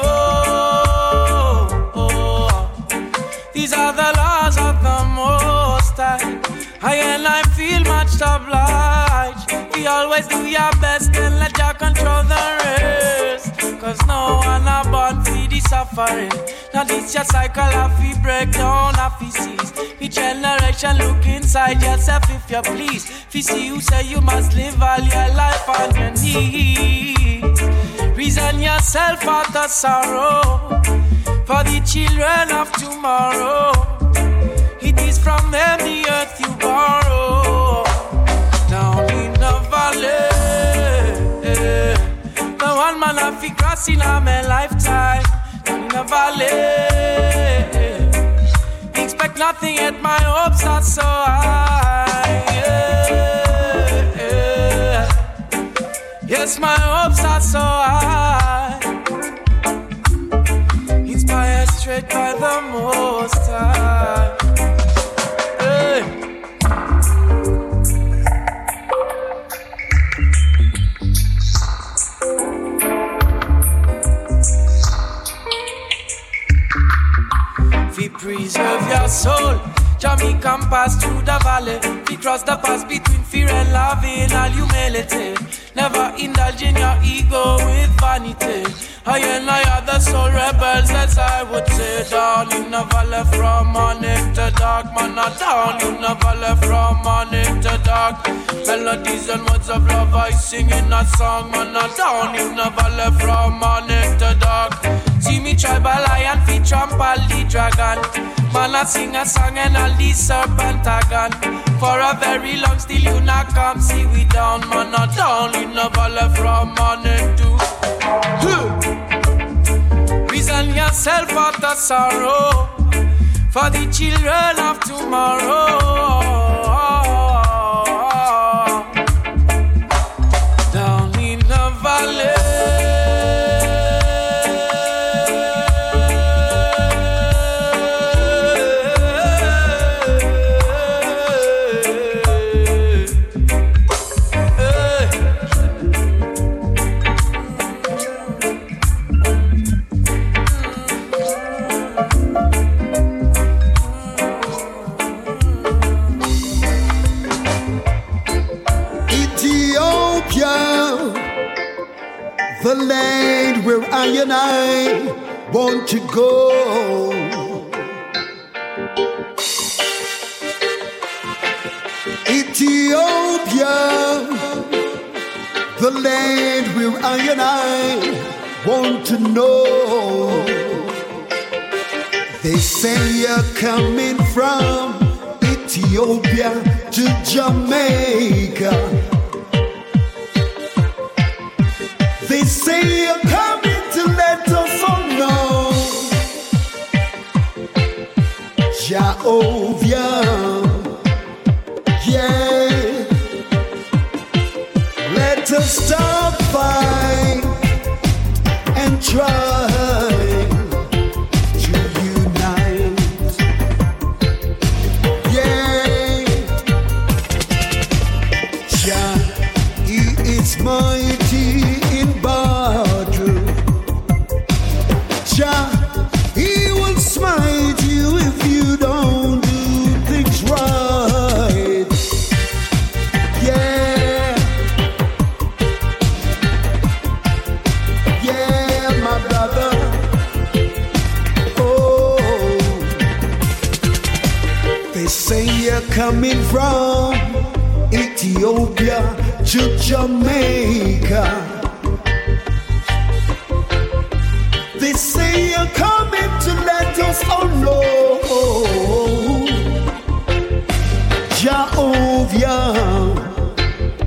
These are the laws of the Most High. I feel much obliged. We always do your best and let Jah control the rest. Cause no one are born for the suffering. Now this your cycle of we break down of we cease. The generation look inside yourself if you please. If you see you say you must live all your life on your knees. Reason yourself out of sorrow for the children of tomorrow. It is from them the earth you borrow. Down in the valley, the one man have to cross in a my lifetime. Down in the valley, expect nothing yet my hopes are so high. Yes, my hopes are so high. Inspired straight by the Most High. Preserve your soul. Jamaican pass through the valley. We cross the pass between fear and love in all humility. Never indulge in your ego with vanity. I and I are the soul rebels, as I would say. Down in the valley from morning to dark. Man, not down in the valley from morning to dark. Melodies and words of love I sing in a song. Man, not down in the valley from morning to dark. See me tribal lion, feet trample the dragon. Man, I sing a song and all the serpent are gone. For a very long still you not come see we down. Man, not down in the valley from morning to reason yourself out of sorrow for the children of tomorrow. Down in the valley. The land where I and I want to go. Ethiopia, the land where I and I want to know. They say you're coming from Ethiopia to Jamaica. They say you're coming to let us all know. Jehovah, yeah. Let us stop fight and try to unite. Yeah. Jah, He is mighty in battle. Jah, He will smite you if you don't do things right. Yeah, yeah, my brother. Oh, they say you're coming from Ethiopia to Jamaica. They say you're coming to let us all know. Jehovah,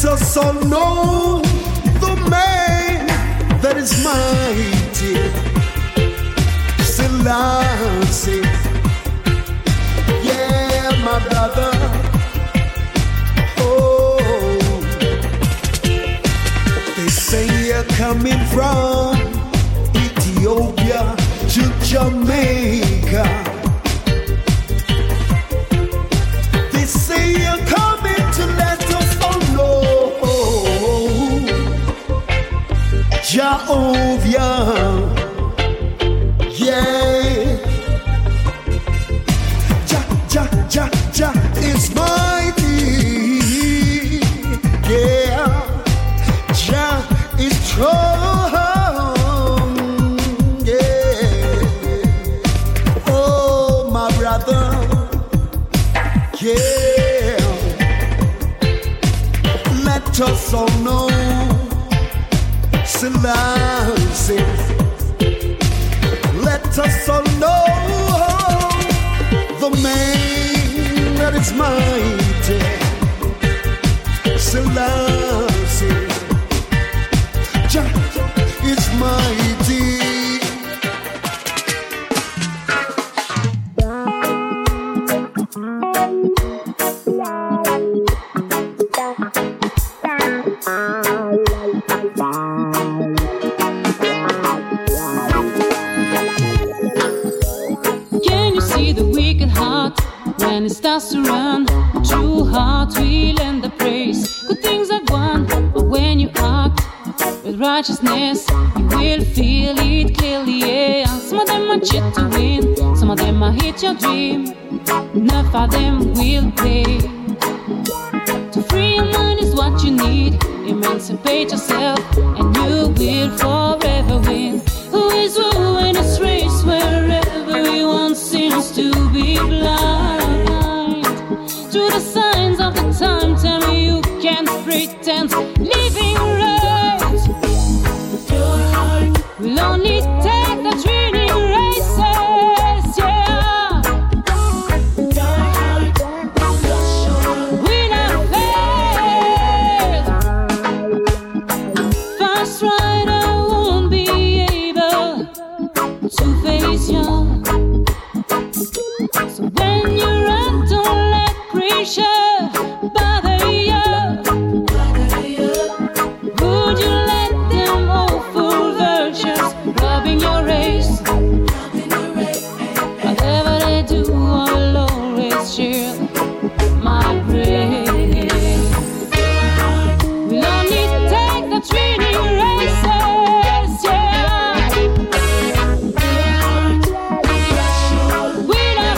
us all know the man that is mighty, Selassie. Yeah, my brother. Oh, they say you're coming from Ethiopia to Jamaica. They say you're coming to let us all know Jehovah. Yeah. Jah is mighty. Yeah. Jah is strong. Yeah. Oh, my brother. Yeah. Let us all know Selassie. Let us all know the man that is mighty, Selassie. Jah is mighty. When it starts to run, true heart will end the praise. Good things are gone, but when you act with righteousness, you will feel it clearly. Yeah. Some of them are cheat to win, some of them are hit your dream. Enough of them will pay. To free your mind is what you need. Emancipate yourself, and you will forever win. Who is who in this race where everyone seems to be blind? To the signs of the time, tell me you can't pretend living right. Your heart will only take the training races, yeah. Your heart will not fail. Fast rider won't be able to face you. So when you run, don't let pressure bother you. Would you let them awful virtues robbing your race? Whatever they do, I'll always share my praise. We'll only take the training races, yeah. We'll not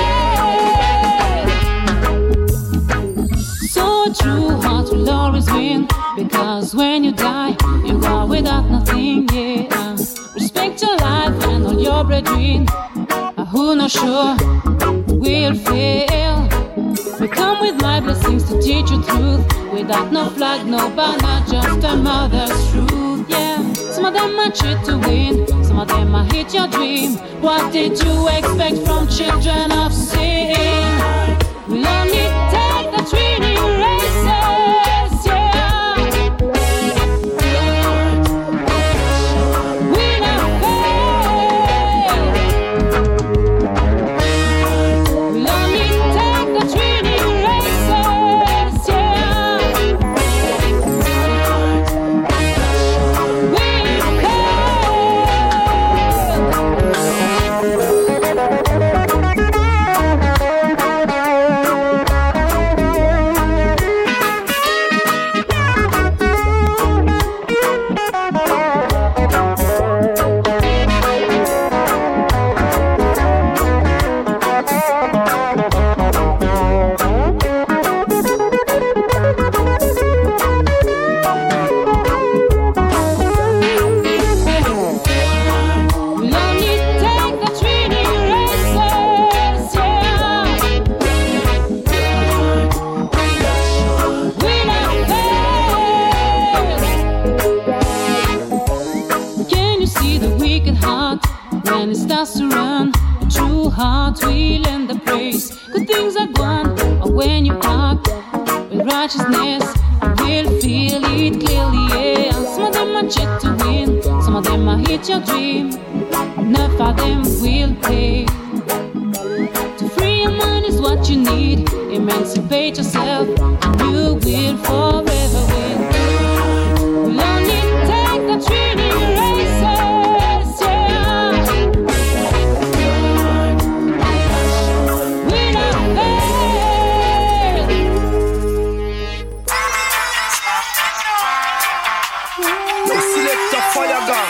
fail. So a true heart will always win, because when you die, you are without nothing, yeah. Respect your life and all your brethren, who not sure will fail. We come with my blessings to teach you truth, without no flag, no banner, just a mother's truth, yeah. Some of them are cheat to win, some of them are hit your dream. What did you expect from children of sin? We'll only take the training races, yeah. We'll not fail. We'll only take the training races, yeah. We'll starts to run, a true heart will end the praise. Good things are gone, or when you act with righteousness, you will feel it clearly, yeah. And some of them are check to win, some of them are hit your dream. Enough of them will pay. To free your mind is what you need. Emancipate yourself, and you will forever win. We'll only take the training races, yeah. Without fail. Select a fire gun.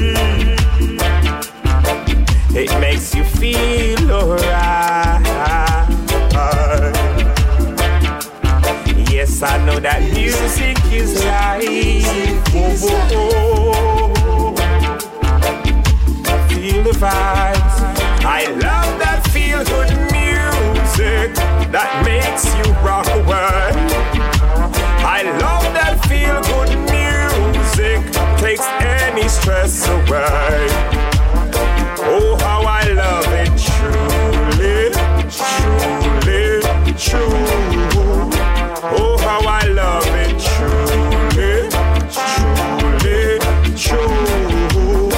It makes you feel alright. 'cause I know that music is life. Feel the vibes. I love that feel-good music that makes you rock away. I love that feel-good music, takes any stress away. Oh, how I love it, truly, truly, true. Oh, how I love it, truly, truly, true.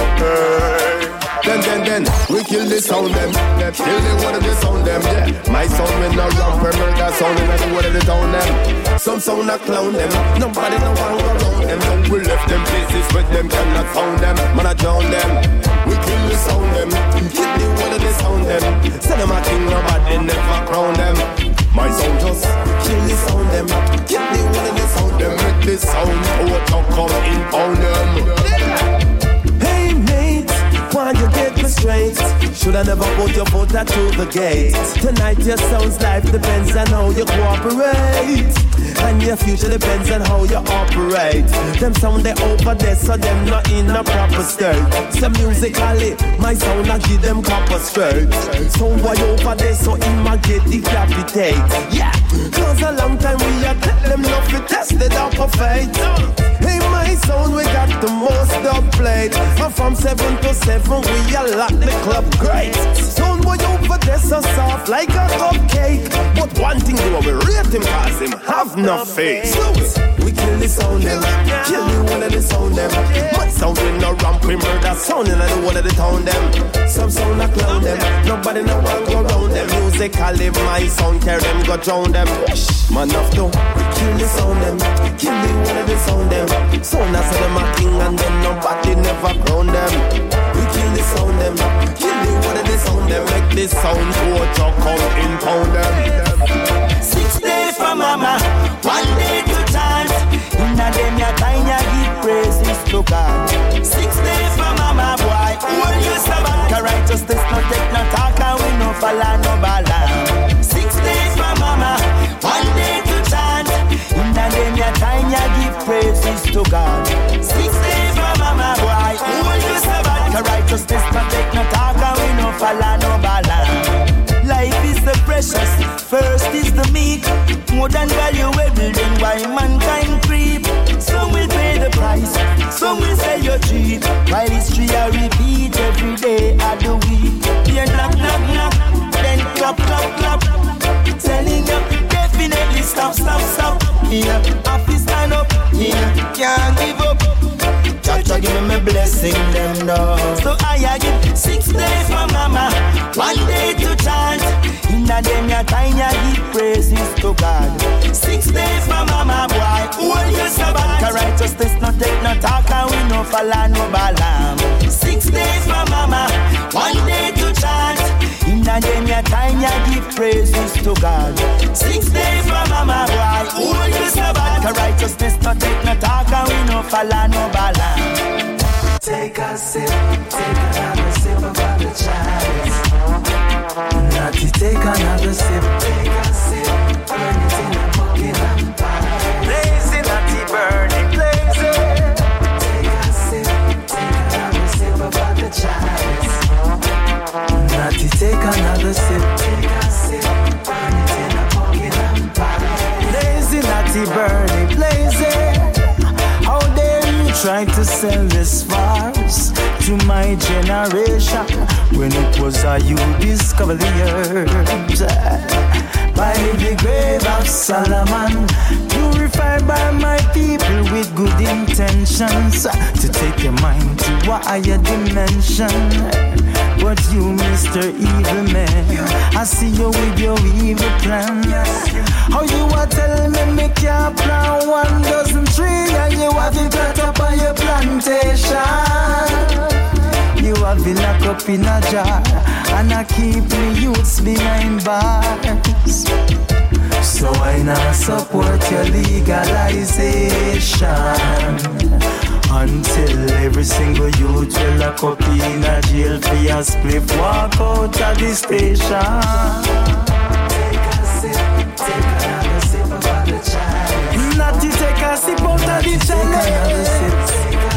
Then, we kill the sound them. Kill the one of the sound them, yeah. My sound with no ramp, murder sound in the one of the town them. Some sound a clown them. Nobody no one go around them. Don't we left them places where them cannot found them. Man I drown them. We kill the sound them. Kill the one of the sound them. Say them a king, nobody never crown them. My sound just kill the sound them. Kill the one of the sound them. Make the sound out to come in on them. Hey mate, why you get me straight? Should I never put your foot out to the gate? Tonight your sound's life depends on how you cooperate, and your future depends on how you operate. Them sound they over there, so them not in a proper state. So musically, my sound I give them copper straight. Sound boy over there, so him a get decapitate. Yeah, cause a long time we a tell them not to test it out for fate. Hey, my sound we got the most up played. And from 7 to 7 we a lock the club great. Sound boy over there so soft like a cupcake. But one thing do we rate him cause him have no face. We kill the sound them, kill the one of the sound them. My sound with no ramp, we murder sound in the one of the town them. Some sound a clown them, nobody know what go around them. Musically my sound carry them, go drown them. Man have to, we kill the sound them, kill the one of the sound them. Sound as them a king and then nobody never crown them. We kill the sound them, kill the one of the sound them. Make this sound go to come in pound them. 6 days for mama, 1 day to chance. Inna them ya time ya give praises to God. 6 days for mama, boy, hold you sabbat. Cause righteousness no take no talk and we no follow no balance. 6 days for mama, 1 day to chance. Inna them ya time ya give praises to God. 6 days for mama, boy, hold you sabbat. Cause righteousness no take no talk and we no follow no balance. Life is the precious, first is the meek. More than valuable than why mankind creep. Some will pay the price, some will say you're cheap. While history I repeat every day of the week. Here knock, knock, knock, then clap, clap, clap. Telling you, definitely stop, stop, stop. Here, have to stand up, here, can't give up. Cha give me my blessing them now. So I give 6 days for mama, 1 day to chant. Inna them ya time ya give praises to God. 6 days for mama, boy, hold your sabbat. Cause righteousness no take no talk and we no follow no balam. 6 days for mama, 1 day to chant. Inna them ya time ya give praises to God. 6 days for mama, boy, hold your sabbat. Cause righteousness no take no talk and we no follow no balam. Take a sip, take another sip of the chalice. Natty, take another sip, take a sip, burn it in a bucket and pie. Blazing, natty, burning, blazing. Take a sip, take another sip of the chalice. Natty, take another sip, take a sip, burn it in a bucket and pie. Blazing, natty, burning, blazing. How dare you try to sell this farce to my generation when it was you discovered the earth by the grave of Solomon, purified by my people with good intentions to take your mind to a higher dimension. But you, Mr. Evil Man, I see you with your evil plans. How you are telling me can't plant 1 dozen trees and you have it cut up on your plantation. You have been locked up in a jar and I keep the youths behind bars. So I not support your legalization until every single youth will lock up in a jail for a spliff, walk out of the station. Take a sip, take another sip of the chalice. a sip out of the chalice.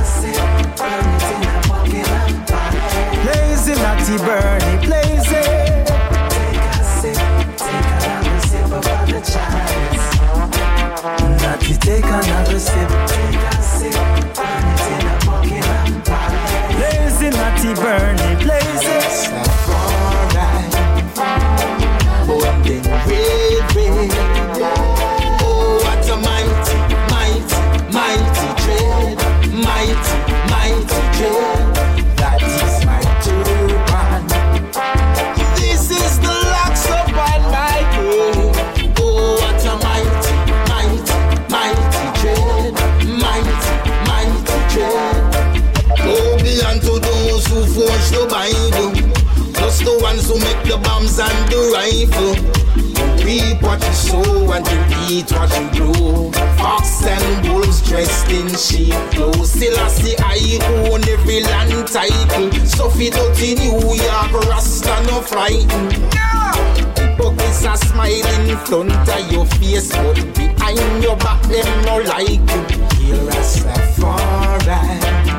Blaze it, natty burning, blaze it. Take another sip of the chalice. Natty, take another sip. Take a sip, burn it in a bucket and palace. Blaze it, natty burning, blaze it. Alright. Holding red. Oh, what a mighty, mighty, mighty dread. Mighty, mighty dread. That is my turban. This is the locks upon my head. Oh, what a mighty, mighty, mighty dread. Mighty, mighty dread. Oh, be unto those who forge the Bible. Just the ones who make the bombs and the rifle. You reap what you sow and you eat what you grow. Fox and wolves dressed in sheep clothes. Still I see I own every land title. So fit out in New York, Rasta no frightened. Hypocrites are smiling in front of your face, but behind your back them no like you. Here Rastafari,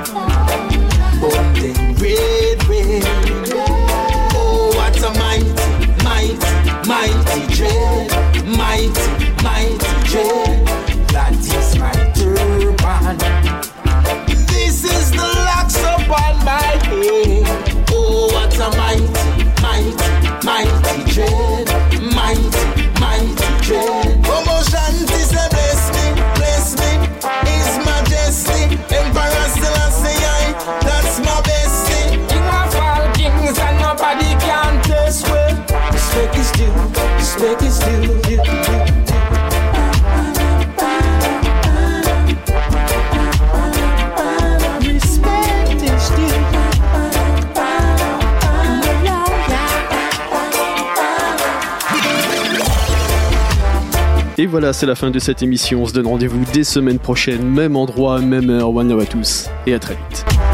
bonding red. What a mighty, mighty, mighty dread. Mighty, mighty dread. That is my turban. This is the locks upon my head. Oh, what a mighty, mighty, mighty dread. Mighty, mighty dread. Promotion is a bless me, His Majesty. Emperor Selassie I, that's my bestie. You have all kings and nobody can test well. Respect is due, respect is due. Respect is due. Et voilà, c'est la fin de cette émission. On se donne rendez-vous dès semaine prochaine, même endroit, même heure. One love à tous et à très vite.